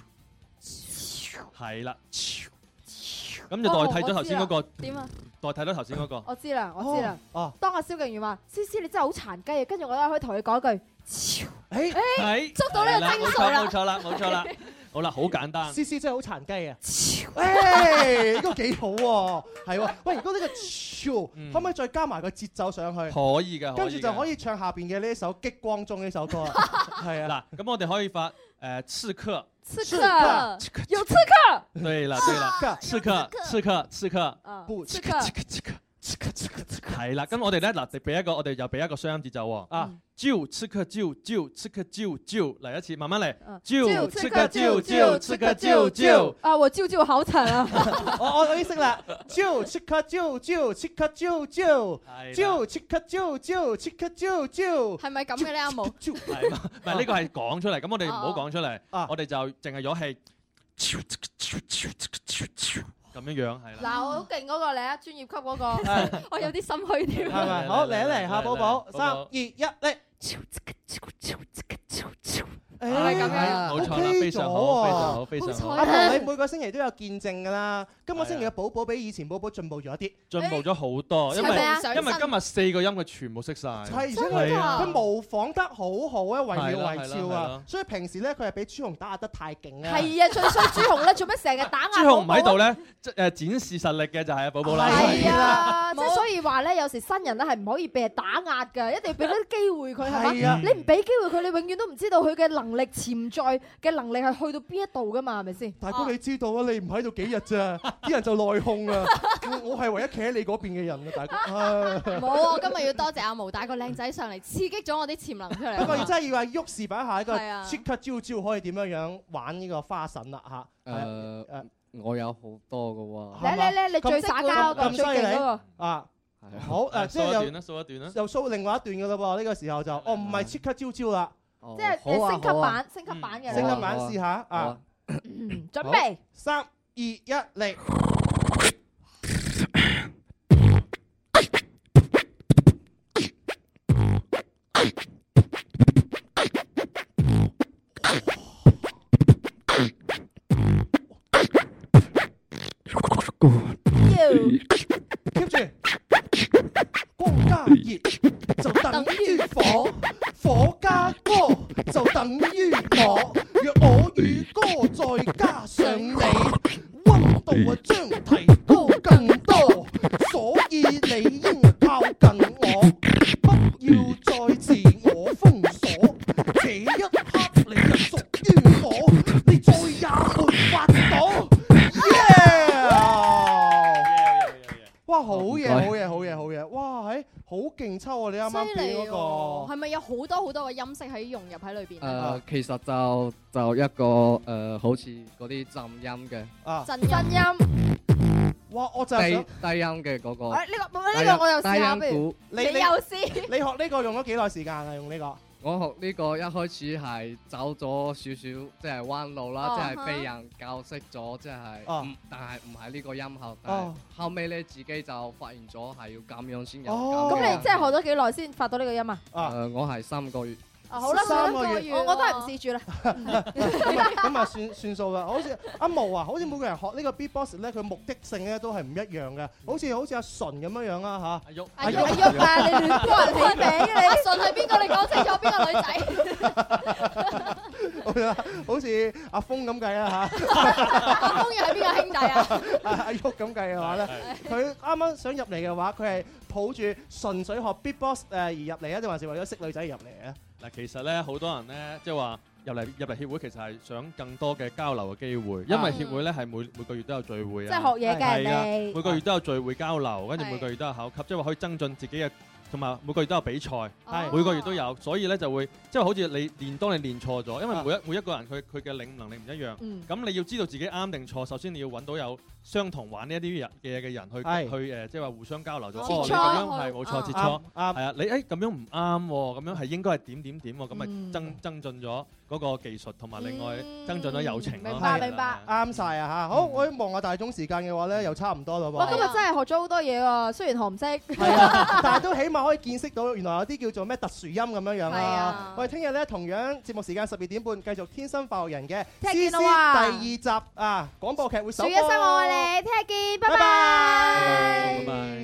係啦，咁就代替咗頭先嗰個點啊？ 代替咗頭先嗰個。 我知啦，我知啦。 哦， 當阿蕭敬元話：思思你真係好殘雞啊！跟住我咧可以同佢講一句： 誒誒， 捉到呢個精髓啦！ 冇錯啦，冇錯啦。好啦，好簡單。 思思真係好殘雞啊！誒，呢個幾好喎，係喎。喂，如果呢個超可唔可以再加埋個節奏上去？ 可以嘅， 跟住就可以唱下邊嘅呢一首《激光中》呢首歌啦。係啊。嗱，咁我哋可以發誒刺客。 刺客，有刺客。 對啦，對啦，刺客，刺客，刺客。 不， 刺客， 刺客。 係啦，咁我哋咧嗱，俾一個我哋又俾一個雙音節奏喎。啊，啾，刺客啾啾，刺客啾啾，嚟一次，慢慢嚟。啾，刺客啾啾，刺客啾啾。 啊，我啾啾好慘啊！ 我我我已經識啦，啾，刺客啾啾，刺客啾啾，啾，刺客啾啾，刺客啾啾。 係咪咁嘅咧？阿毛？ 係嘛？唔係呢個係講出嚟，咁我哋唔好講出嚟，我哋就淨係咗氣。咁樣樣係啦。 嗱，我好勁嗰個嚟啊，專業級嗰個，我有啲心虛添。 係咪？好，嚟一嚟，夏寶寶，三二一，嚟。 係咁樣， 冇錯啦，非常好，非常好，非常好。 阿彤，你每個星期都有見證㗎啦。今個星期嘅寶寶比以前寶寶進步咗一啲， 進步咗好多，因為因為今日四個音佢全部識晒。 係，而且佢佢模仿得好好啊，惟妙惟肖啊。所以平時咧，佢係俾朱紅打壓得太勁啊。 係啊，最衰朱紅咧，做咩成日打壓？ 朱紅唔喺度咧，誒展示實力嘅就係阿寶寶啦。 係啊，即係所以話咧，有時新人咧係唔可以被人打壓㗎，一定要俾啲機會佢係嘛？你唔俾機會佢，你永遠都唔知道佢嘅能力潛在嘅能力係去到邊一度㗎嘛？係咪先？ 大哥你知道啊，你唔喺度幾日咋，啲人就內訌啊！我係唯一企喺你嗰邊嘅人啊，大哥。 冇啊！今日要多謝阿毛帶個靚仔上嚟，刺激咗我啲潛能出嚟。 不過真係要話喐示範一下一個即刻招招可以點樣樣玩呢個花神啦嚇。 誒誒，我有好多嘅喎。 嚟嚟嚟，你最耍家嗰個最勁嗰個啊！好誒，即係又數一段啦，數一段啦， 又數另外一段嘅嘞喎。呢個時候就哦唔係即刻招招啦， 即係升級版、升級版嘅。 升級版試下啊！ 準備三二一嚟。keep 住，光加熱就等於火，火加歌就等於我。若我與歌再加上你，溫度啊將提高更多，所以你應靠近我，不要再自我封鎖。這一刻你就屬於我，你再也沒法躲。哇！好嘢，好嘢，好嘢，好嘢！哇，係好勁抽啊！你啱啱表嗰個係咪有好多好多嘅音色喺融入喺裏邊？ 誒，其實就就一個誒，好似嗰啲震音嘅啊， 震音。 哇！我就係低低音嘅嗰個。 誒，呢個呢個我又試下，不如你你又試。 你學呢個用咗幾耐時間啊？用呢個？ 我學呢個一開始係走咗少少，即係彎路啦，即係被人教識咗，即係，但係唔係呢個音效。但係後尾咧自己就發現咗係要咁樣先有。 咁你即係學咗幾耐先發到呢個音啊？ 誒，我係三個月。 啊好啦，三個月，我我都係唔試住啦。 咁啊咁啊算算數啦。好似阿毛啊，好似每個人學呢個 beatbox 咧，佢目的性咧都係唔一樣嘅。好似好似阿純咁樣樣啦嚇。阿喐阿喐阿喐啊！你亂幫人起名嘅你。阿純係邊個？你講清楚邊個女仔？ 好似阿峰咁計啊嚇。 阿峰又係邊個兄弟啊？ 阿阿喐咁計嘅話咧，佢啱啱想入嚟嘅話，佢係抱住純粹學 beatbox 誒而入嚟啊，定還是為咗識女仔而入嚟啊？ 嗱，其實咧好多人咧，即係話入嚟入嚟協會，其實係想更多嘅交流嘅機會，因為協會咧係每每個月都有聚會啊， 即係學嘢嘅你， 每個月都有聚會交流，跟住每個月都有考級，即係話可以增進自己嘅。同埋每個月都有比賽，係每個月都有，所以咧就會即係好似你練，當你練錯咗，因為每一每一個人佢佢嘅領悟能力唔一樣，咁你要知道自己啱定錯，首先你要揾到有相同玩呢一啲人嘅嘅人去去誒，即係話互相交流咗。哦，你咁樣係冇錯，切磋係啊，你誒咁樣唔啱喎，咁樣係應該係點點點喎，咁咪增增進咗嗰個技術，同埋另外增進咗友情咯。 明白明白， 啱晒啊嚇！好，我望下大鐘時間嘅話咧，又差唔多啦喎。 哇！今日真係學咗好多嘢喎，雖然學唔識， 係啊，但係都起碼可以見識到原來有啲叫做咩特殊音咁樣樣啊！我哋聽日咧同樣節目時間十二點半繼續《天生快活人》嘅 C C 第二集啊廣播劇會首播。 數一聲我愛你，聽日見，拜拜。 拜拜。